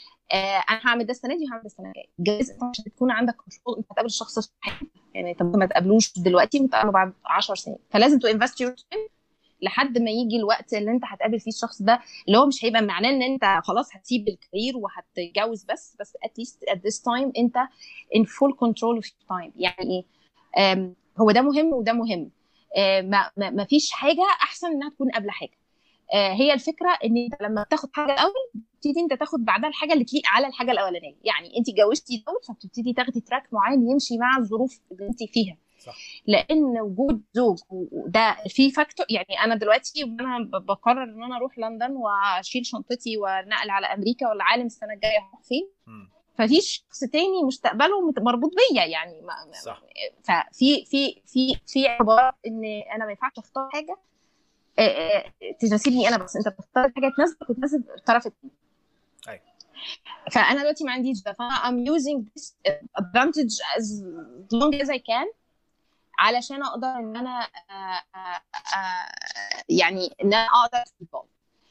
انا هعمل ده السنه دي وهعمل ده السنه الجايه. الجواز انت عشان تكون عندك كنترول، انت هتقابل الشخص الصح يعني، طب ما تقابلوش دلوقتي وتقابله بعد عشر سنين. فلازم تو انفست يور تايم لحد ما يجي الوقت اللي انت هتقابل فيه الشخص ده، اللي هو مش هيبقى معناه ان انت خلاص هتسيب الكارير وهتتجوز بس بس at least at this time انت in full control of your time. يعني ايه؟ هو ده مهم وده مهم. ما ما فيش حاجه احسن انها تكون قبل حاجه. هي الفكره ان انت لما بتاخد حاجه الاول بتبتدي انت تاخد بعدها الحاجه اللي تليق على الحاجه الاولانيه. يعني انت اتجوزتي الاول فبتبتدي تاخدي تراك معين يمشي مع الظروف اللي انت فيها. صح. لان وجود زوج ده في فاكتور. يعني انا دلوقتي وانا بقرر ان انا اروح لندن واشيل شنطتي ونقل على امريكا ولا عالم السنه الجايه هروح فين، ففي شخص تاني مستقبله مربوط بيا يعني. صح. ففي في في في عباره ان انا ما ينفعش اختار حاجه تناسبني انا بس، انت بتختار حاجه تناسبك وتناسب الطرف الثاني. ايوه. فانا دلوقتي ما عنديش ده، فانا I'm using this advantage as long as I can علشان اقدر ان انا آآ آآ يعني ان انا اقدر اتفضل.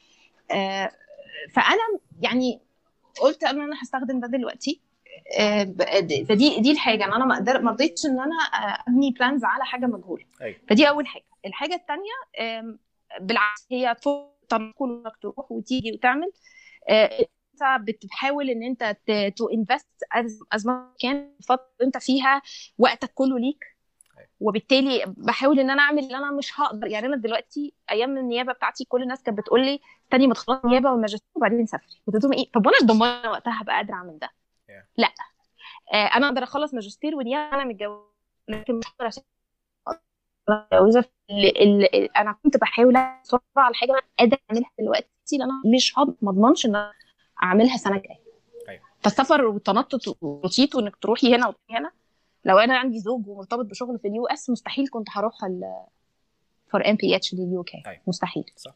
فانا يعني قلت ان انا هستخدم ده دلوقتي. فدي دي الحاجه ان انا ما اقدر ما رضيتش ان انا ابني بلانز على حاجه مجهوله. أيوة. فدي اول حاجه. الحاجه الثانيه بالعكس هي تنقل انك تروح وتيجي وتعمل. انت بتحاول ان انت تو انفست از ما كان الفتره انت فيها وقتك كله ليك. وبالتالي بحاول ان انا اعمل اللي انا مش هقدر. يعني انا دلوقتي ايام النيابه بتاعتي كل الناس كانت بتقول لي استني ما تخلصي النيابه والماجستير وبعدين سافري. قلت لهم ايه؟ طب وانا ضمنه وقتها هبقى قادره اعمل ده؟ yeah. لا آه انا اقدر اخلص ماجستير ونيابه انا متجوزه، لكن مش هقدر متجوزه. انا كنت بحاول اسرع على الحاجه انا قادره اعملها دلوقتي، لان انا مش ما اضمنش ان انا اعملها سنه جايه. ايوه. فالسفر والتنطط والروتيت وانك تروحي هنا وتروحي هنا، لو انا عندي زوج ومرتبط بشغل في اليو اس مستحيل كنت هروح ال فور ام بي اتش لليو كي. مستحيل. صح.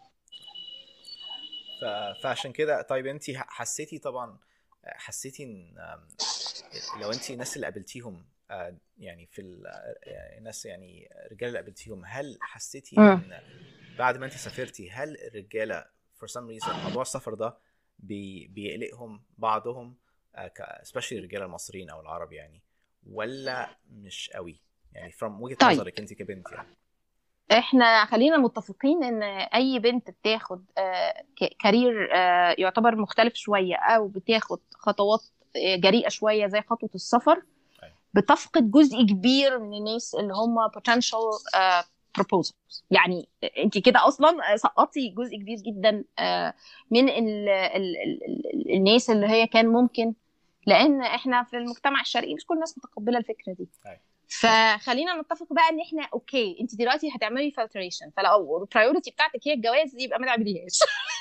ف... فعشان كده طيب انت حسيتي طبعا حسيتي ان لو انت الناس اللي قابلتيهم يعني في الناس يعني الرجاله اللي قابلتيهم، هل حسيتي ان بعد ما انت سافرتي هل الرجاله for some reason موضوع السفر ده بي... بيقلقهم بعضهم especially الرجاله المصريين او العرب يعني، ولا مش قوي يعني from وجهة طيب. نظرك انت كبنت يعني؟ احنا خلينا متفقين ان اي بنت بتاخد كارير يعتبر مختلف شويه او بتاخد خطوات جريئه شويه زي خطوه السفر بتفقد جزء كبير من الناس اللي هم potential proposals. يعني انت كده اصلا سقطتي جزء كبير جدا من ال ال ال ال الناس اللي هي كان ممكن لان احنا في المجتمع الشرقي مش كل الناس متقبله الفكره دي. فخلينا نتفق بقى ان احنا اوكي انت دلوقتي هتعملي فلتريشن، فلو البرايورتي بتاعتك هي الجواز يبقى ما تعمليهاش.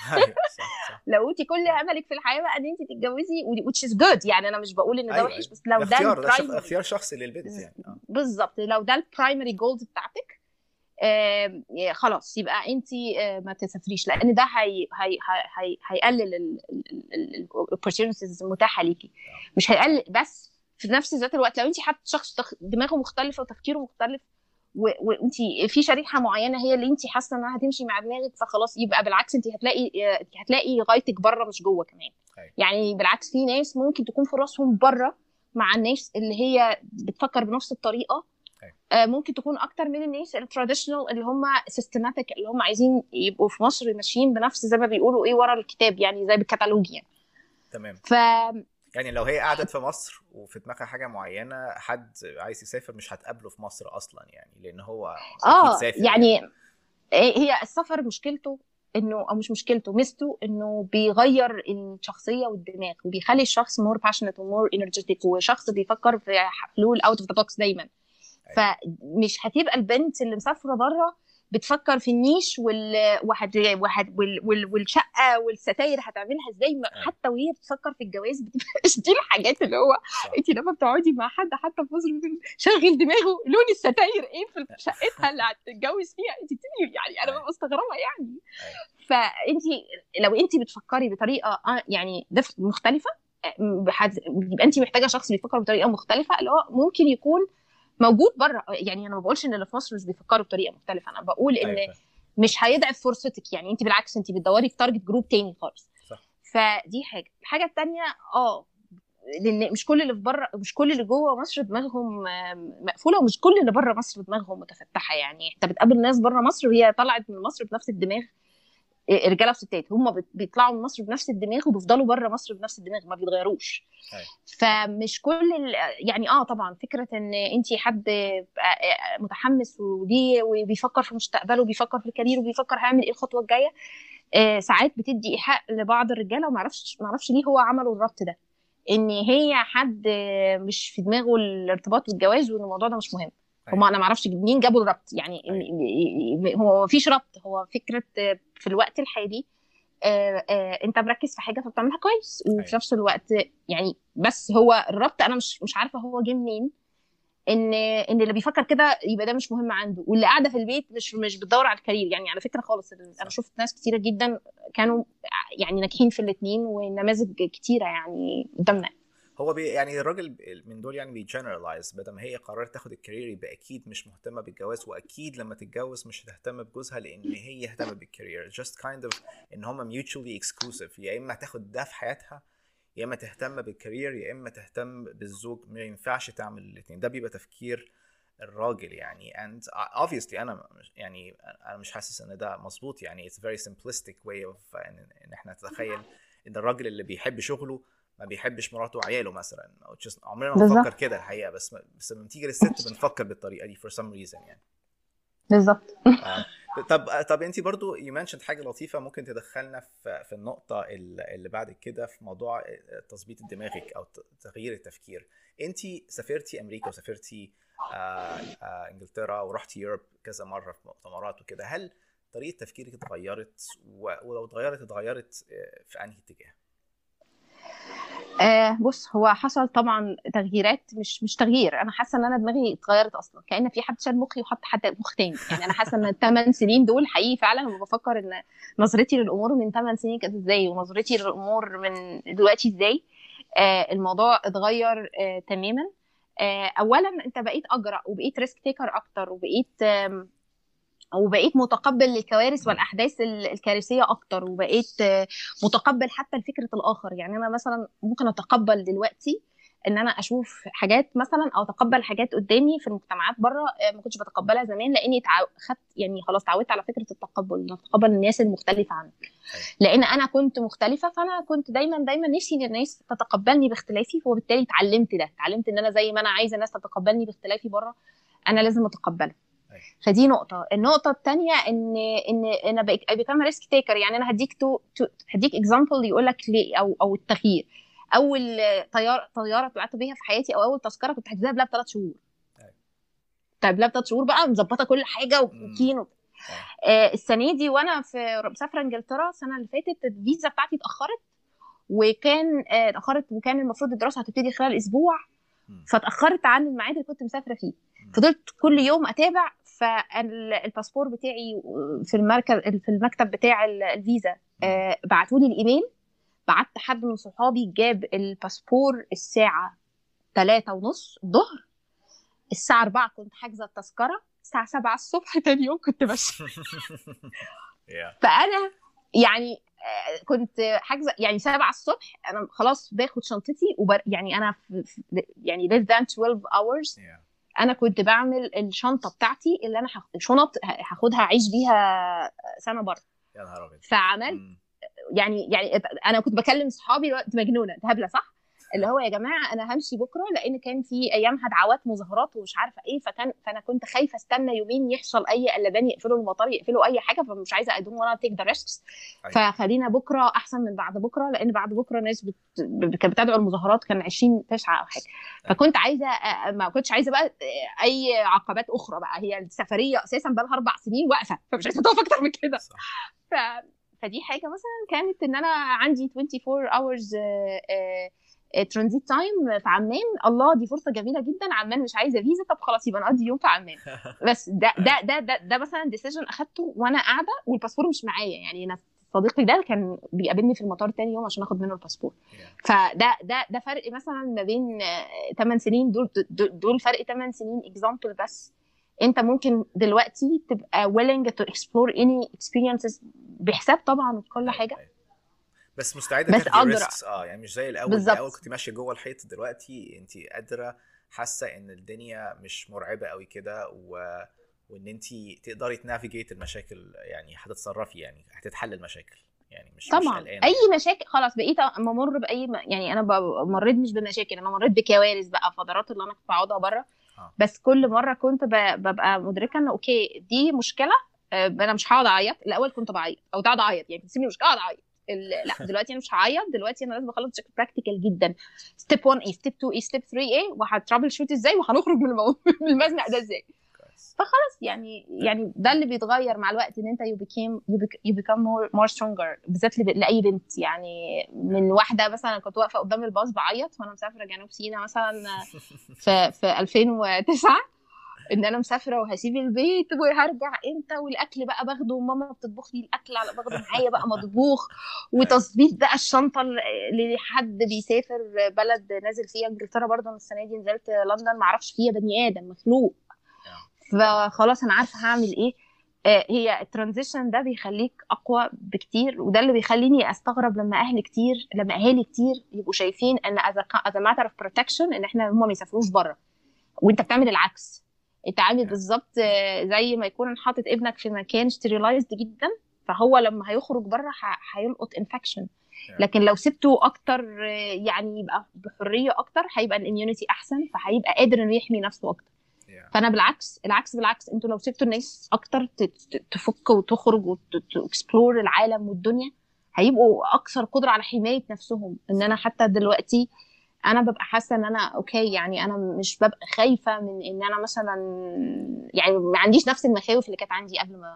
لو انت كل املك في الحياه بقى ان انت تتجوزي which is good، يعني انا مش بقول ان ده وحش، بس لو ده اختيار ده اختيار شخصي للبنت يعني آه. بالظبط، لو ده البرايمري جولز بتاعتك آه خلاص يبقى انت آه ما تسافريش، لان ده هي هي هي هيقلل الاوبورتيونيتيز المتاحه ليكي، مش هيقلل بس في نفس ذات الوقت لو انت حاطه شخص دماغه مختلفه وتفكيره مختلف وانت في شريحه معينه هي اللي انت حاسه انها هتمشي مع دماغك، فخلاص يبقى بالعكس انت هتلاقي هتلاقي غايتك بره مش جوه كمان. أي. يعني بالعكس في ناس ممكن تكون فرصهم بره مع الناس اللي هي بتفكر بنفس الطريقه، آه ممكن تكون اكتر من الناس التراديشنال اللي هم سيستماتيك، اللي هم عايزين يبقوا في مصر ماشيين بنفس زي ما بيقولوا ايه ورا الكتاب، يعني زي بالكتالوج يعني. تمام. ف يعني لو هي قعدت في مصر وفي دماغها حاجه معينه، حد عايز يسافر مش هتقابله في مصر اصلا، يعني لان هو اه يعني, يعني هي السفر مشكلته انه او مش مشكلته ميزته انه بيغير الشخصيه والدماغ وبيخلي الشخص مور باشنت ومور انرجيتيك وشخص بيفكر في حلول اوت اوف ذا بوكس دايما. فمش هتبقى البنت اللي مسافره بره بتفكر في النيش وال... وحد... وحد... وال... وال... والشقه والستاير هتعملها ازاي، حتى وهي بتفكر في الجواز بتبقاش دي الحاجات اللي هو انت لما بتقعدي مع حد حتى في مصر شغل دماغه لون الستاير ايه في شقتها اللي هتتجوز فيها، انت بتبقي يعني انا ببقى مستغربه يعني. فانت لو انت بتفكري بطريقه يعني مختلفه يبقى انت محتاجه شخص بيفكر بطريقه مختلفه اللي هو ممكن يكون موجود بره. يعني انا ما بقولش ان اللي في مصر مش بيفكروا بطريقه مختلفه، انا بقول ان أيوة. مش هيضعف فرصتك، يعني انت بالعكس انت بتدوري في تارجت جروب تاني خالص. صح. فدي حاجه. الحاجه الثانيه اه لان مش كل اللي في بره مش كل اللي جوه مصر دماغهم مقفوله، ومش كل اللي بره مصر دماغهم متفتحه. يعني انت بتقابل ناس بره مصر وهي طلعت من مصر بنفس الدماغ، رجاله وستات هم بيطلعوا من مصر بنفس الدماغ وبيفضلوا بره مصر بنفس الدماغ ما بيتغيروش. أي. فمش كل يعني اه طبعا فكره ان انت حد متحمس وليه وبيفكر في مستقبله وبيفكر في الكارير وبيفكر هيعمل ايه الخطوه الجايه، آه ساعات بتدي ايحاء لبعض الرجاله وما اعرفش ما اعرفش ليه هو عملوا الربط ده، ان هي حد مش في دماغه الارتباط والجواز وان الموضوع ده مش مهم. هم انا ما اعرفش منين جابوا الربط، يعني أي. هو ما فيش ربط، هو فكره في الوقت الحالي آه آه انت مركز في حاجه فبتعملها كويس وفي أي. نفس الوقت يعني بس هو الربط انا مش مش عارفه هو جه منين، ان ان اللي بيفكر كده يبقى ده مش مهم عنده، واللي قاعده في البيت مش مش بتدور على الكارير. يعني على فكره خالص انا شفت ناس كتيره جدا كانوا يعني ناجحين في الاثنين ونماذج كتيره يعني قدامنا. هو بي يعني الراجل من دول يعني بيجنرالايز، بدل ما هي قررت تاخد الكارير يبقى اكيد مش مهتمه بالجواز، واكيد لما تتجوز مش هتهتم بجوزها لان هي اهتمت بالكارير. just kind of ان هم mutually exclusive، يا اما تاخد ده في حياتها يا اما تهتم بالكارير يا اما تهتم بالزوج، ما ينفعش تعمل الاثنين. ده بيبقى تفكير الراجل يعني. and obviously انا يعني انا مش حاسس ان ده مظبوط، يعني it's very simplistic way of ان, إن احنا نتخيل ان الراجل اللي بيحب شغله ما بيحبش مراته وعياله مثلا. عمرنا ما بنفكر كده الحقيقه، بس بس لما تيجي للست بنفكر بالطريقه دي for some reason يعني. بالظبط. طب طب انت برضو you mentioned حاجه لطيفه ممكن تدخلنا في في النقطه اللي بعد كده في موضوع تظبيط دماغك او تغيير التفكير. انت سافرتي امريكا وسافرتي آآ آآ انجلترا ورحتي يوروب كذا مره في مؤتمرات وكده، هل طريقه تفكيرك اتغيرت؟ ولو اتغيرت اتغيرت في انهي اتجاه؟ آه بص هو حصل طبعا تغييرات، مش مش تغيير، انا حاسه ان انا دماغي اتغيرت اصلا، كأن في حد شال مخي وحط حد مخ تاني. يعني انا حاسه ان الثمان سنين دول حقيقي فعلا وبفكر ان نظرتي للامور من ثمان سنين كانت ازاي ونظرتي للامور من دلوقتي ازاي. آه الموضوع اتغير آه تماما. آه اولا انت بقيت اجرأ وبقيت ريسك تيكر اكتر وبقيت آه وبقيت متقبل للكوارث والاحداث الكارثيه اكتر، وبقيت متقبل حتى لفكره الاخر. يعني انا مثلا ممكن اتقبل دلوقتي ان انا اشوف حاجات مثلا او اتقبل حاجات قدامي في المجتمعات بره ما كنتش بتقبلها زمان، لاني خدت يعني خلاص اتعودت على فكره التقبل، ان اتقبل الناس المختلفه عني لان انا كنت مختلفه. فانا كنت دايما دايما نفسي ان الناس تتقبلني باختلافي، وبالتالي اتعلمت ده اتعلمت ان انا زي ما انا عايزه الناس تتقبلني باختلافي بره انا لازم اتقبلها. فدي نقطة. النقطة الثانية إن إن أنا بقيت become risk taker. يعني أنا هديك تو, تو هديك example يقول لك ليه أو أو التغيير. اول طياره طياره طلعت بيها في حياتي او اول تذكره كنت حاجزاها قبلها بثلاث شهور. طيب قبلها بثلاث شهور بقى مظبطه كل حاجه وكينو. آه السنه دي وانا في مسافره انجلترا السنه اللي فاتت الفيزا بتاعتي اتاخرت وكان آه اتاخرت وكان المفروض الدراسه هتبتدي خلال اسبوع فاتاخرت عن الميعاد اللي كنت مسافره فيه. فضلت كل يوم اتابع فالباسبور بتاعي في المركز في المكتب بتاع الفيزا آه بعتوا لي الايميل. بعت حد من صحابي جاب الباسبور الساعه ثلاثة ونص الظهر. الساعه أربعة كنت حاجزه التذكره. الساعه سبعة الصبح تاني يوم كنت ماشيه. فانا يعني كنت حاجزه يعني سبعة الصبح انا خلاص باخد شنطتي وبر يعني انا في يعني less than twelve hours انا كنت بعمل الشنطه بتاعتي اللي انا شنط هاخدها اعيش بيها سنه بره. يا نهار ابيض. فعملت يعني يعني انا كنت بكلم صحابي الوقت مجنونه انت هبله صح اللي هو يا جماعه انا همشي بكره لان كان في ايامها دعوات مظاهرات ومش عارفه ايه فكان فانا كنت خايفه استنى يومين يحصل اي قلبان يقفلوا المطار يقفلوا اي حاجه فمش عايزه ادوم وانا تيك ذا ريسكس. فخلينا بكره احسن من بعد بكره لان بعد بكره ناس بت... كانت بتدعو المظاهرات كان عشرين تسعة او حاجه. فكنت عايزه ما كنتش عايزه بقى اي عقبات اخرى بقى هي السفريه اساسا بقى لها اربع سنين واقفه فمش عايزه تقف اكتر من كده. ف... فدي حاجه مثلا كانت ان انا عندي أربعة وعشرين hours ترانزيت تايم في عمان. الله دي فرصه جميله جدا. عمان مش عايزه فيزا طب خلاص يبقى نقضي يوم في عمان. بس ده ده ده ده, ده مثلا ديسيجن اخدته وانا قاعده والباسبور مش معايا. يعني انا صديقي ده كان بيقابلني في المطار تاني يوم عشان اخد منه الباسبور. فده ده ده فرق مثلا ما بين ثمان سنين. دول دول فرق ثمان سنين اكزامبل. بس انت ممكن دلوقتي تبقى willing to explore any experiences بحساب طبعا وكل حاجه بس مستعده تاخدي ريسكس. اه يعني مش زي الاول. بالزبط. الاول كنت ماشيه جوه الحيط دلوقتي انت قادره حاسه ان الدنيا مش مرعبه قوي كده و... وان انت تقدري تنافيجيت المشاكل يعني هتتصرفي يعني هتتحل المشاكل يعني مش طبعا مش اي مشاكل خلاص بقيت ممر باي م... يعني انا مريت مش بمشاكل انا مريت بكوارث بقى فترات اللي انا كنت بقعدها بره. آه. بس كل مره كنت ب... ببقى مدركه ان اوكي دي مشكله انا مش هقعد اعيط. الاول كنت بعيط او تقعد اعيط يعني تسيبني مش قاعد اعيط. لا دلوقتي انا مش هعيط. دلوقتي انا لازم اخلص شكل براكتيكال جدا. ستيب واحد ايه ستيب اتنين ايه ستيب تلاتة ايه وهترابل شوت ازاي وهنخرج من المو... من المزنق ده ازاي. فخلاص يعني يعني ده اللي بيتغير مع الوقت ان انت you became you become more more stronger بالذات لاي بنت. يعني من واحده مثلا كنت واقفه قدام الباص بعيط وانا مسافره جنوب سيناء مثلا في في ألفين وتسعة ان انا مسافره وهسيب البيت وهرجع امتى والاكل بقى باخده وماما بتطبخ لي الاكل على باخده معايا بقى مطبوخ وتظبيط بقى الشنطه اللي حد بيسافر بلد نازل فيها انجلترا. برضه انا السنه دي نزلت لندن ما اعرفش فيها بني ادم مخلوق. فخلاص انا عارفه هعمل ايه. هي الترانزيشن ده بيخليك اقوى بكتير وده اللي بيخليني استغرب لما اهل كتير لما اهالي كتير يبقوا شايفين ان as a matter of protection ان احنا هم ما يسافروش بره وانت بتعمل العكس. انت عامل بالظبط زي ما يكون حاطط ابنك في مكان ستيريلايزد جدا فهو لما هيخرج بره هيلقط انفكشن. لكن لو سبته اكتر يعني يبقى بحريه اكتر هيبقى الاميونيتي احسن فهيبقى قادر انه يحمي نفسه اكتر. فانا بالعكس العكس بالعكس انتوا لو سبتوا الناس اكتر تفك وتخرج وتكسبلور العالم والدنيا هيبقوا اكثر قدره على حمايه نفسهم. ان انا حتى دلوقتي انا ببقى حاسه ان انا اوكي يعني انا مش ببقى خايفه من ان انا مثلا يعني ما عنديش نفس المخاوف اللي كانت عندي قبل ما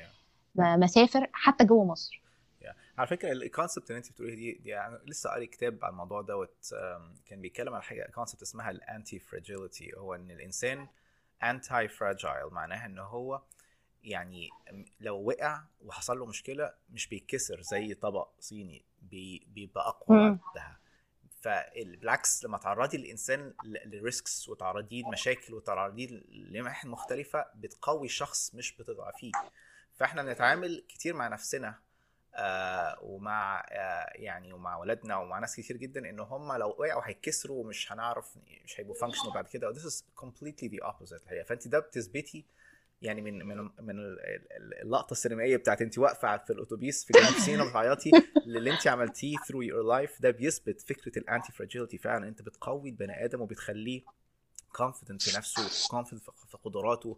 ما ما اسافر حتى جوه مصر. yeah. على فكره الكونسبت اللي انت بتقوليه دي, دي يعني لسه قاري كتاب على الموضوع دوت كان بيتكلم عن حاجه كونسبت اسمها الانتي فراجيليتي. هو ان الانسان انتي فراجايل معناها ان هو يعني لو وقع وحصل له مشكله مش بيتكسر زي طبق صيني بيبقى اقوى بعدها. فبالعكس لما تعرضي الانسان للريسكس وتعرضيه لمشاكل وتعرضيه لمحن مختلفه بتقوي الشخص مش بتضعفيه. فاحنا بنتعامل كتير مع نفسنا آه ومع آه يعني ومع ولادنا ومع ناس كتير جدا ان هم لو وقعوا هيتكسروا ومش هنعرف مش هيبقوا فانكشنال بعد كده. this is completely the opposite الحقيقه. فانت ده بتثبتي يعني من من من اللقطه السينمائيه بتاعت انت واقفه في الاتوبيس في جنوب سيناء بتعيطي اللي انت عملتيه through your life ده بيثبت فكره الانتي فراجيليتي. فعلا انت بتقوي البني ادم وبتخليه confident في نفسه confident في قدراته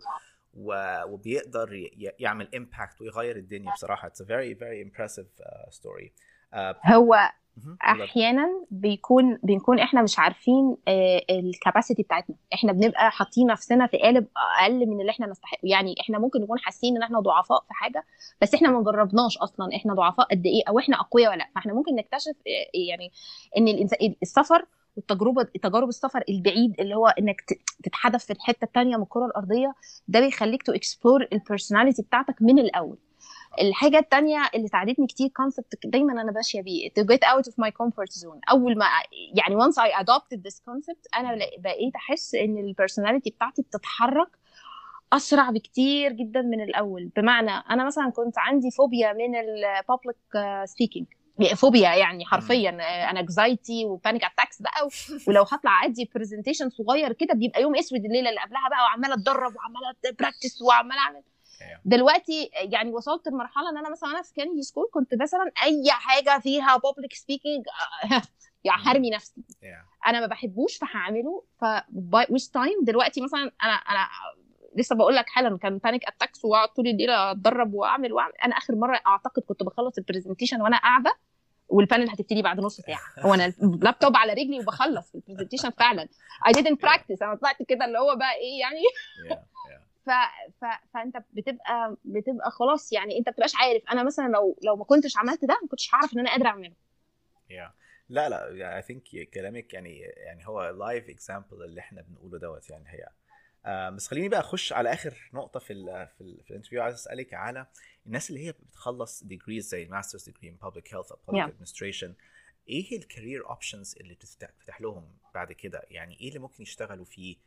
وبيقدر يعمل impact ويغير الدنيا. بصراحه it's a very very impressive uh, story. uh, هو احيانا بيكون بنكون احنا مش عارفين الكاباسيتي بتاعتنا، احنا بنبقى حاطين نفسنا في قالب اقل من اللي احنا نستحق. يعني احنا ممكن نكون حاسين ان احنا ضعفاء في حاجه، بس احنا ما جربناش اصلا احنا ضعفاء قد ايه او احنا اقوياء ولا لا. فاحنا ممكن نكتشف يعني ان الانسان السفر والتجربه تجارب السفر البعيد اللي هو انك تتحدث في الحته الثانيه من الكره الارضيه، ده بيخليك تو اكسبلور البيرسوناليتي بتاعتك من الاول. الحاجه الثانيه اللي ساعدتني كتير كونسبت دايما انا ماشيه بيه to get out of my comfort zone. اول ما يعني once I adopted this concept انا بقيت احس ان البيرسوناليتي بتاعتي بتتحرك اسرع بكتير جدا من الاول. بمعنى انا مثلا كنت عندي فوبيا من البابليك سبيكينج، فوبيا يعني حرفيا انكزايتي وبانيك اتاكس بقى، ولو هطلع ادي برزنتيشن صغير كده بيبقى يوم اسود الليله اللي قبلها بقى، وعماله اتدرب وعماله براكتس وعماله اعمل. دلوقتي يعني وصلت لمرحله ان انا مثلا انا في كندي سكول كنت مثلا اي حاجه فيها بابليك سبيكينج يعني هرمي نفسي، انا ما بحبوش فهعمله. ف ويست تايم دلوقتي مثلا انا انا لسه بقول لك حالا كان بانيك اتاكس واقعد طول الليل اتدرب واعمل واعمل. انا اخر مره اعتقد كنت بخلص البرزنتيشن وانا قاعده والبانل هتبتدي بعد نص ساعه، هو انا اللابتوب على رجلي وبخلص البرزنتيشن فعلا. I didn't practice، انا طلعت كده اللي هو بقى ايه يعني ف... ف... فانت بتبقى بتبقى خلاص يعني انت بتبقاش عارف. انا مثلا لو لو ما كنتش عملت ده ما كنتش هعرف ان انا قادره اعمله. yeah. لا لا يعني I think كلامك يعني يعني هو لايف اكزامبل اللي احنا بنقوله دوت يعني هي. آه بس خليني بقى اخش على اخر نقطه في ال في, ال في الانترفيو. عايز اسالك على الناس اللي هي بتخلص ديجريز زي ماسترز ديجري ان بابليك هيلث او بابليك ادمنستريشن، ايه الكارير اوبشنز اللي بتفتح لهم بعد كده؟ يعني ايه اللي ممكن يشتغلوا فيه؟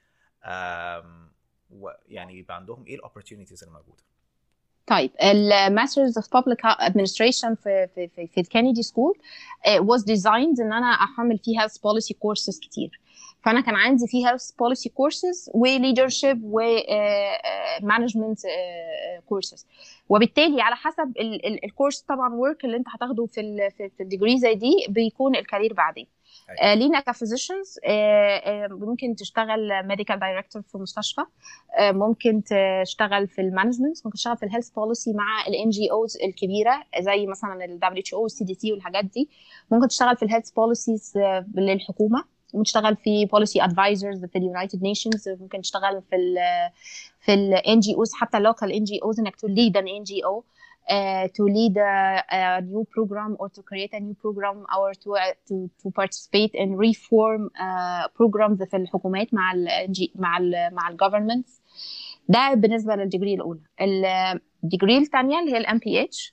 آم يعني يبقى عندهم ايه الاوبورتيونيتيز الموجوده؟ طيب الماسترز اوف بابليك ادمنستريشن في في في, في الكندي سكول واز ديزايند ان انا احمل فيه هيلث بوليسي كورسز كتير. فانا كان عندي فيه هيلث بوليسي كورسز وليدرشيب ومانجمنت كورسز، وبالتالي على حسب الكورس طبعا ورك اللي انت هتاخده في في الديجري زي دي بيكون الكارير بعدين. آه لينا كفيزيشنز آه آه ممكن تشتغل ميديكال دايركتور في مستشفى، آه ممكن تشتغل في المانجمنت، ممكن تشتغل في الهيلث بوليسي مع الان جي اوز الكبيره زي مثلا الدبليو اتش او والسي دي سي والحاجات دي. ممكن تشتغل في الهيلث بوليسيز للحكومه، ممكن تشتغل في بوليسي ادفايزرز في اليونايتد نيشنز، ممكن تشتغل في ال في الان جي اوز حتى لوكال ان جي اوز انك تليد ان ان جي او Uh, to lead a, a new program or to create a new program or to uh, to to participate in reform uh, programs في الحكومات مع ال مع ال مع الجوفرمنتس. ده بالنسبه للديجري الاولى. الديجري الثانيه اللي هي الام بي اتش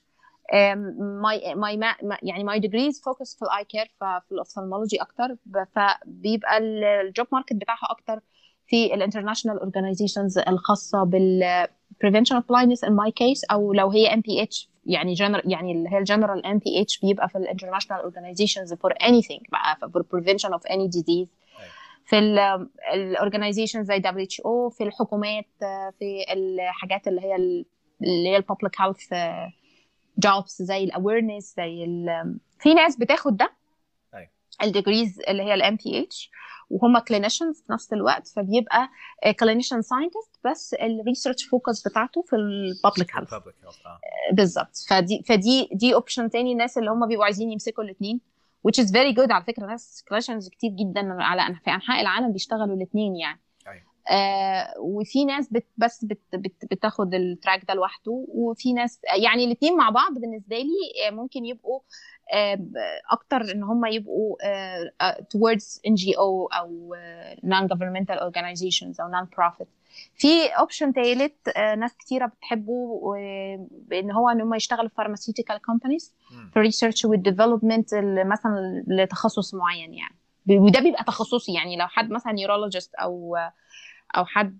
ماي ماي يعني ماي ديجريز فوكس في الاي كير في الاوفثالمولوجي اكتر، فبيبقى الجوب ماركت بتاعها اكتر في الانترناشونال اورجانيزيشنز الخاصه بال prevention of blindness in my case، او لو هي إم بي إتش يعني general يعني اللي هي الجنرال إم بي إتش بيبقى في الانترناشونال organizations for anything بقى for prevention of any disease. في الاورجانيزيشن زي دبليو اتش او، في الحكومات، في الحاجات اللي هي اللي هي الببليك هيلث جوبز زي الاويرنس زي في ناس بتاخد ده الديجريز اللي هي الام بي اتش وهم كلينيشنز في نفس الوقت، فبيبقى كلينيشن ساينتست بس الريسيرش فوكس بتاعته في الببليك هيلث بالظبط. فدي فدي دي اوبشن تاني الناس اللي هم بيبقوا عايزين يمسكوا الاثنين which is very good. على فكره ناس كلينيشنز كتير جدا على في انحاء العالم بيشتغلوا الاثنين يعني. آه وفي ناس بت بس بت بت بتاخد التراك ده لوحده، وفي ناس يعني الاثنين مع بعض بالنسبه لي ممكن يبقوا آه اكتر ان هم يبقوا آه towards إن جي أو او non governmental organizations او non profit. في اوبشن ثالث آه ناس كتيره بتحبه بان هو ان هم يشتغلوا في pharmaceutical companies في research والdevelopment مثلا لتخصص معين يعني، وده بيبقى تخصصي يعني لو حد مثلا neurologist او او حد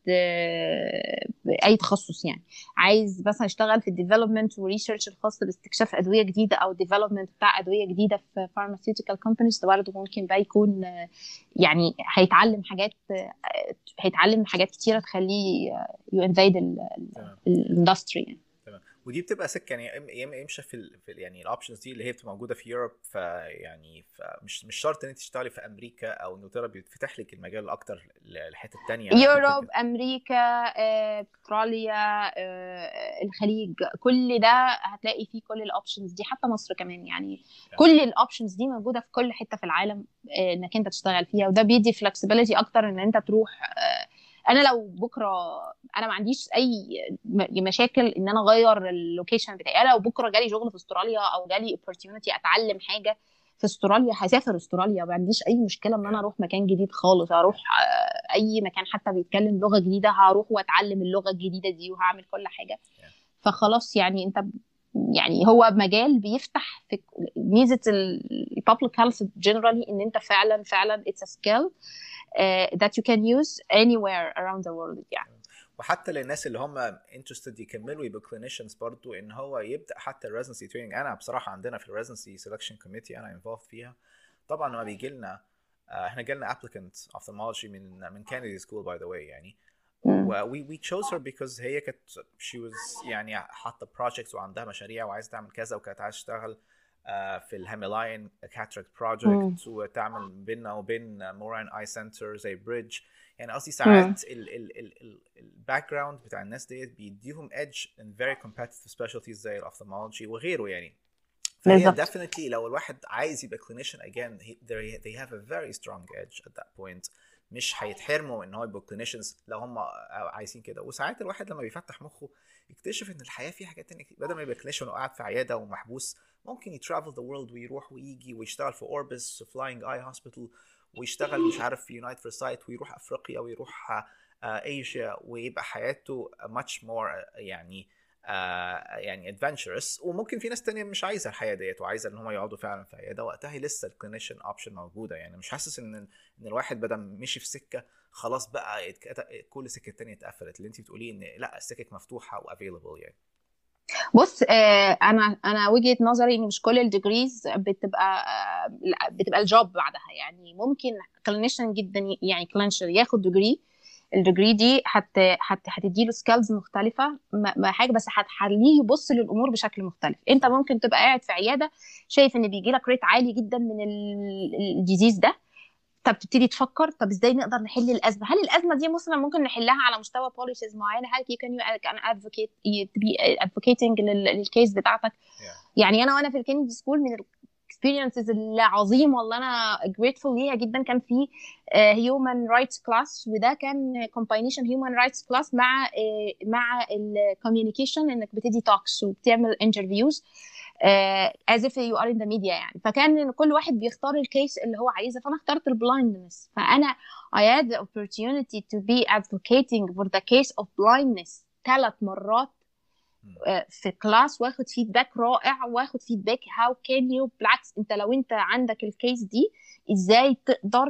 اي تخصص يعني عايز مثلا يشتغل في الديفلوبمنت وريسيرش الخاص باستكشاف ادويه جديده او ديفلوبمنت بتاع ادويه جديده في فارماسيوتيكال كومبانيز، ده برضه ممكن بقى يكون يعني هيتعلم حاجات هيتعلم حاجات كتيره تخليه يو انفيد الاندستري يعني. تمام. ودي بتبقى سكه يعني يا اما يمشي في, ال... في ال... يعني الاوبشنز دي اللي هي بتبقى موجوده في يوروب، فيعني فمش مش شرط ان انت تشتغلي في امريكا او انجلترا، بيتفتح لك المجال اكتر للحته الثانيه. يوروب، امريكا، استراليا، الخليج، كل ده هتلاقي فيه كل الاوبشنز دي، حتى مصر كمان يعني. yeah. كل الاوبشنز دي موجوده في كل حته في العالم انك انت تشتغل فيها، وده بيدي فلكسبيليتي اكتر ان انت تروح. انا لو بكره انا ما عنديش اي مشاكل ان انا اغير اللوكيشن بتاعي. انا لو بكره جالي شغل في استراليا او جالي اوبورتيونيتي اتعلم حاجه في استراليا هسافر استراليا، ما عنديش اي مشكله ان انا اروح مكان جديد خالص، اروح اي مكان حتى بيتكلم لغه جديده هروح واتعلم اللغه الجديده دي وهعمل كل حاجه. فخلاص يعني انت يعني هو مجال بيفتح في ميزه البابليك هيلث جنرالي ان انت فعلا فعلا it's a skill uh, that you can use anywhere around the world يعني. وحتى للناس اللي هم interested يكملوا يبقوا clinicians برضو، ان هو يبدا حتى residency training. انا بصراحه عندنا في residency selection committee انا involved فيها. طبعا لما بيجي لنا احنا جالنا applicant ophthalmology من من Kennedy School by the way يعني. we we chose her because هي كانت she was يعني حاطه projects وعندها مشاريع وعايزه تعمل كذا، وكانت عايزه تشتغل في الهاملاين كاتراكت بروجكت، وتعمل بيننا وبين موران اي سنتر زي بريدج. يعني قصدي ساعات الباك جراوند بتاع الناس ديت بيديهم edge in very competitive specialties زي الاوفثالمولوجي وغيره يعني. فهي definitely لو الواحد عايز يبقى clinician again they, they have a very strong edge at that point. مش هيتحرموا ان هو يبقوا clinicians لو هم عايزين كده. وساعات الواحد لما بيفتح مخه يكتشف ان الحياه فيها حاجات تانية، بدل ما يبقى clinician وقاعد في عياده ومحبوس ممكن يترافل ذا وورلد ويروح ويجي ويشتغل في اوربس فلاينج اي هوسبيتال، ويشتغل مش عارف في يونايتد فور سايت، ويروح افريقيا ويروح ايجيا، ويبقى حياته much more يعني uh, يعني adventurous. وممكن في ناس تانية مش عايزه الحياه ديت وعايزه ان هم يقعدوا فعلا في عياده، وقتها لسه الكلينيشن اوبشن موجوده. يعني مش حاسس ان ان الواحد بدل مشي في سكه خلاص بقى كل سكه تانية اتقفلت. اللي انت بتقوليه ان لا السكك مفتوحه وافيلبل يعني. بص آه انا انا وجهه نظري ان مش كل الديجريز بتبقى آه بتبقى الجوب بعدها. يعني ممكن كلينيشن جدا يعني كلينشر ياخد ديجري، الديجري دي حت حت هتديله سكيلز مختلفه ما حاجه، بس هتخليه يبص للامور بشكل مختلف. انت ممكن تبقى قاعد في عياده شايف ان بيجي لك ريت عالي جدا من الديزيز ده، طب تبتدي تفكر طب ازاي نقدر نحل الازمه. هل الازمه دي مثلا ممكن نحلها على مستوى بوليسيز معينه؟ هل you can you can advocate to be advocating للكيس بتاعتك؟ yeah. يعني انا وانا في الكندي سكول من الاكسبيرينسز العظيمه والله انا grateful ليها جدا، كان في هيومن رايتس كلاس، وده كان كومباينيشن هيومن رايتس كلاس مع uh, مع الكوميونيكيشن، انك بتدي توكس وبتعمل انترفيوز Uh, as if you are in the media يعني. فكان كل واحد بيختار الكيس اللي هو عايزه، فانا اخترت البلايندنس. فانا I had the opportunity to be advocating for the case of blindness ثلاث مرات uh, في كلاس، واخد فيدباك رائع، واخد فيدباك how can you بالعكس انت لو انت عندك الكيس دي ازاي تقدر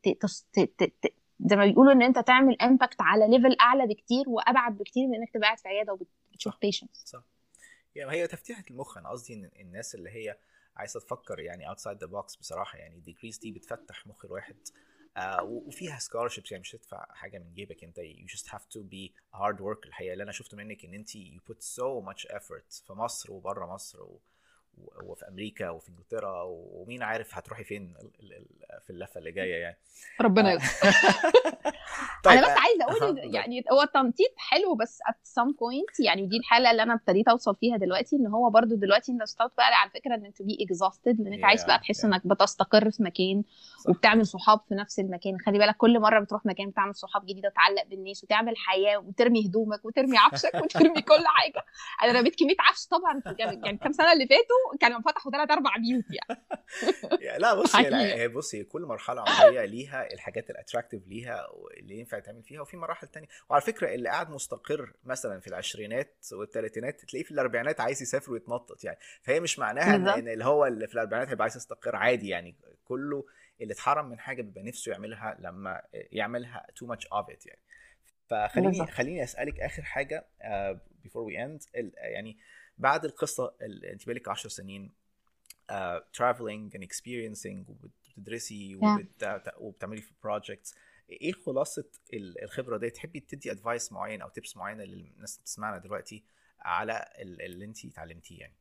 زي ما بيقولوا ان انت تعمل امباكت على ليفل اعلى بكتير وابعد بكتير من انك تبقى قاعد في عياده وبتشوف بيشنتس. صح. يعني هي تفتيحة المخ. أنا قصدي إن الناس اللي هي عايزة تفكر يعني outside the box بصراحة، يعني الديجريز دي بتفتح مخ الواحد آه وفيها scholarships. يعني مش تدفع حاجة من جيبك أنت، you just have to be a hard worker. الحقيقة اللي أنا شفته منك إن أنت you put so much effort في مصر وبره مصر و... وفي أمريكا وفي إنجلترا، ومين عارف هتروحي فين في اللفة اللي جاية يعني. ربنا يستر. طيب انا بس عايزه اقول يعني هو التنطيط حلو بس at some point يعني دي الحاله اللي انا ابتديت اوصل فيها دلوقتي، ان هو برضو دلوقتي انت ستارت بقى على فكره ان انت بي exhausted، لانك yeah, عايز بقى تحس yeah. انك بتستقر في مكان صح. وبتعمل صحاب في نفس المكان. خلي بالك كل مره بتروح مكان بتعمل صحاب جديده، تعلق بالناس وتعمل حياه وترمي هدومك وترمي عفشك وترمي كل حاجه. انا رميت كميه عفش طبعا يعني كام سنه اللي فاتوا كانوا فتحوا ثلاث اربع بيوت يعني. لا بصي هي بصي كل مرحله عمريه ليها الحاجات الاتراكتيف ليها اللي ينفع تعمل فيها، وفي مراحل تانية. وعلى فكره اللي قاعد مستقر مثلا في العشرينات والثلاثينات تلاقيه في الاربعينات عايز يسافر ويتنطط يعني. فهي مش معناها ان, إن اللي هو اللي في الاربعينات هيبقى عايز يستقر عادي يعني. كله اللي اتحرم من حاجه بيبقى نفسه يعملها لما يعملها too much of it يعني. فخليني خليني اسالك اخر حاجه uh, before we end يعني بعد القصه اللي انت بقالك عشر سنين uh, traveling and experiencing وبتدرسي وبت... وبتعملي في projects، ايه خلاصه الخبره دي؟ تحبي تدي ادفايس معين او تيبس معينه للناس اللي بتسمعنا دلوقتي على اللي انت اتعلمتيه يعني؟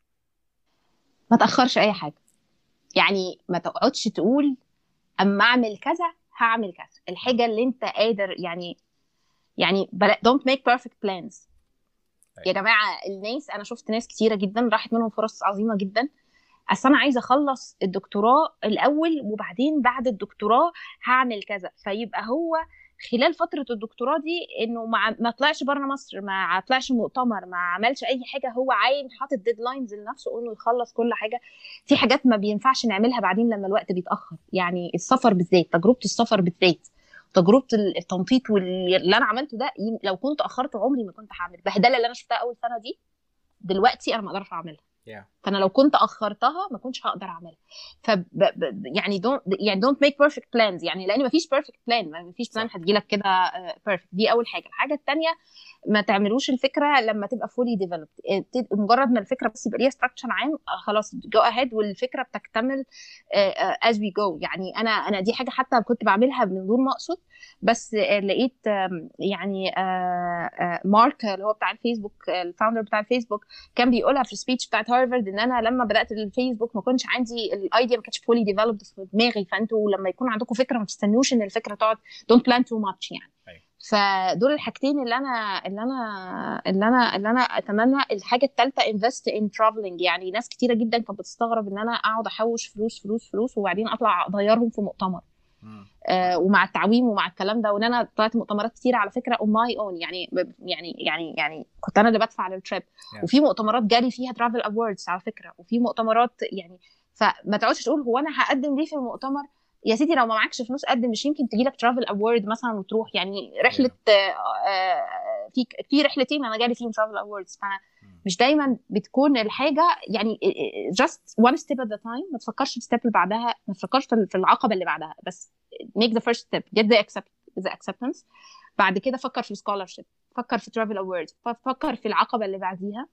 ما تاخرش اي حاجه، يعني ما تقعدش تقول اما اعمل كذا هعمل كذا. الحاجه اللي انت قادر يعني يعني don't make perfect plans. يا جماعه الناس، انا شفت ناس كتيره جدا راحت منهم فرص عظيمه جدا، اصل انا عايزه اخلص الدكتوراه الاول وبعدين بعد الدكتوراه هعمل كذا، فيبقى هو خلال فتره الدكتوراه دي انه ما ما طلعش بره مصر، ما طلعش مؤتمر، ما عملش اي حاجه، هو عايم حاطط ديدلاينز لنفسه انه يخلص كل حاجه. في حاجات ما بينفعش نعملها بعدين لما الوقت بيتاخر، يعني السفر بالذات، تجربه السفر بالذات، تجربه التنطيط واللي انا عملته ده، لو كنت اخرت عمري ما كنت هعمل البهدله اللي انا شفتها اول سنه دي، دلوقتي انا ما اقدرش اعملها. yeah. فانا لو كنت اخرتها ما كنتش هقدر اعملها. ف يعني don't يعني don't make perfect plans، يعني لان ما فيش perfect plan، ما فيش بلان هتجيلك كده perfect. دي اول حاجه. الحاجه الثانيه، ما تعملوش الفكره لما تبقى fully developed، مجرد ما الفكره بس يبقى ليها structure عام خلاص go ahead والفكره بتكتمل as we go. يعني انا انا دي حاجه حتى كنت بعملها من دون ما اقصد، بس لقيت يعني مارك اللي هو بتاع الفيسبوك، الفاوندر بتاع الفيسبوك، كان بيقولها في السبيتش بتاعت هارفارد ان انا لما بدات الفيسبوك ما كنتش عندي الايديا، ما كانتش فولي ديفلوبد في دماغي، فانتوا لما يكون عندكم فكره ما تستنوش ان الفكره تقعد don't plan too much يعني. فدول الحاجتين اللي انا اللي انا اللي انا اللي انا اتمنى. الحاجه الثالثه invest in traveling. يعني ناس كتيره جدا كانت بتستغرب ان انا اقعد احوش فلوس فلوس فلوس وبعدين اطلع اضيعهم في مؤتمر، آه ومع التعويم ومع الكلام ده. وان انا طلعت مؤتمرات كتير على فكره on my own، يعني يعني يعني يعني كنت انا اللي بدفع للتريب، yeah. وفي مؤتمرات جالي فيها travel awards على فكره، وفي مؤتمرات يعني. فما تقعدش تقول هو انا هقدم ليه في المؤتمر، يا سيدي لو ما معكش فلوس قدم، مش يمكن تجي لك travel award مثلا وتروح. يعني رحله yeah. آه آه في في رحلتين انا جالي فيهم travel awards. مش دايما بتكون الحاجه يعني just one step at a time. ما تفكرش في الستيب اللي بعدها، ما تفكرش في العقبه اللي بعدها، بس make the first step, get the accept the acceptance. بعد كده فكر في scholarship، فكر في travel awards، فكر في العقبه اللي بعديها.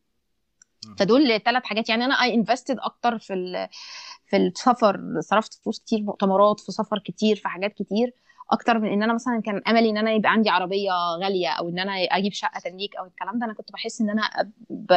فدول ثلاث حاجات. يعني انا I invested اكتر في في السفر، صرفت فلوس كتير مؤتمرات، في سفر كتير، في حاجات كتير، اكتر من ان انا مثلا كان املي ان انا يبقى عندي عربيه غاليه او ان انا اجيب شقه تمليك او الكلام ده. انا كنت بحس ان انا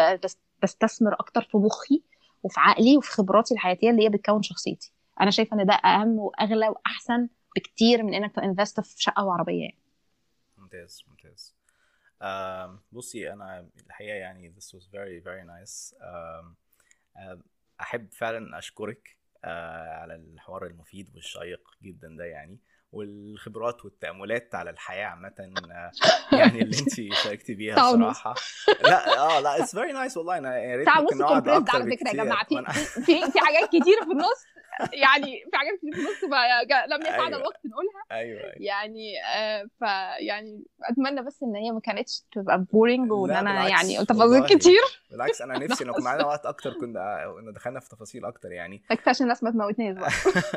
بستثمر اكتر في مخي وفي عقلي وفي خبراتي الحياتيه اللي هي بتكون شخصيتي. انا شايفه ان ده اهم واغلى واحسن بكتير من انك تنفست في شقه وعربيه يعني. ممتاز ممتاز. uh, بصي انا الحقيقه يعني this was very very nice. uh, uh, احب فعلا اشكرك uh, على الحوار المفيد والشيق جدا ده يعني، والخبرات والتأملات على الحياة عامة يعني اللي انت شاركتي بيها الصراحة. لا اه لا it's very nice والله. انا يا ريت ممكن نقعد اكتر على فكرة يا جماعة. في في في حاجات كتير في النص يعني في حاجات كتير في النص لم يسعنا أيوة. الوقت نقولها. ايوه, أيوة. يعني آه فيعني اتمنى بس ان هي ما كانتش تبقى بورينج وان انا يعني قلت تفاصيل كتير. بالعكس انا نفسي لو كان معانا وقت اكتر كنا كنا دخلنا في تفاصيل اكتر يعني. عشان الناس ما تموتناش بقى.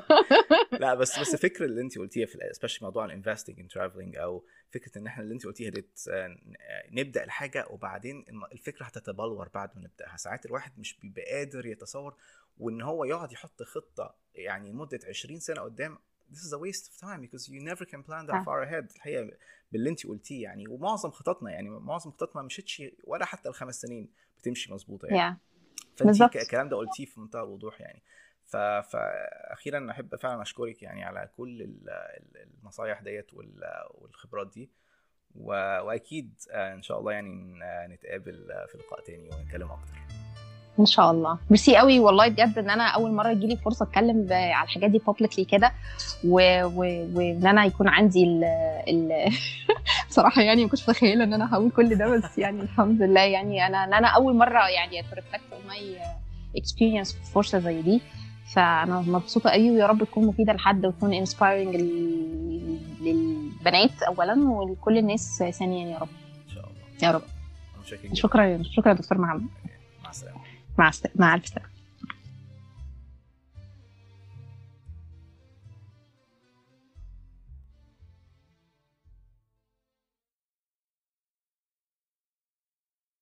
لا بس بس الفكره اللي انت قلتيها في especially موضوع الانفستنج ان ترافلينج، او فكره ان احنا اللي انت قلتيها دي نبدا الحاجه وبعدين الفكره هتتبلور بعد ما نبداها. ساعات الواحد مش بيبقى قادر يتصور، وان هو يقعد يحط خطه يعني لمده عشرين سنه قدام. This is a waste of time because you never can plan that far ahead. الحقيقه باللي انت قلتيه يعني، ومعظم خططنا يعني معظم خططنا ما مشيتش ولا حتى الخمس سنين بتمشي مظبوطه يعني. yeah. فانت الكلام ده قلتيه في منتهى الوضوح يعني. فاخيرا احب فعلا اشكرك يعني على كل النصايح ديت والخبرات دي، واكيد ان شاء الله يعني نتقابل في لقاء تاني ونتكلم اكتر ان شاء الله. ميرسي قوي والله بجد ان انا اول مره يجي لي فرصه اتكلم على الحاجات دي بابليكلي كده، وان انا يكون عندي ال ال بصراحه يعني ما كنتش متخيله ان انا هقول كل ده، بس يعني الحمد لله يعني انا ان انا اول مره يعني اترفلكت اون ماي اكسبيرينس في فرصه زي دي. فانا مبسوطه قوي، ويا رب تكون مفيده لحد وتكون انسبايرنج للبنات اولا ولكل الناس ثانيا يا رب ان شاء الله. يا رب. شكرا شكرا دكتور محمد. مع السلامه. مع السلامه. مع الف سلامه.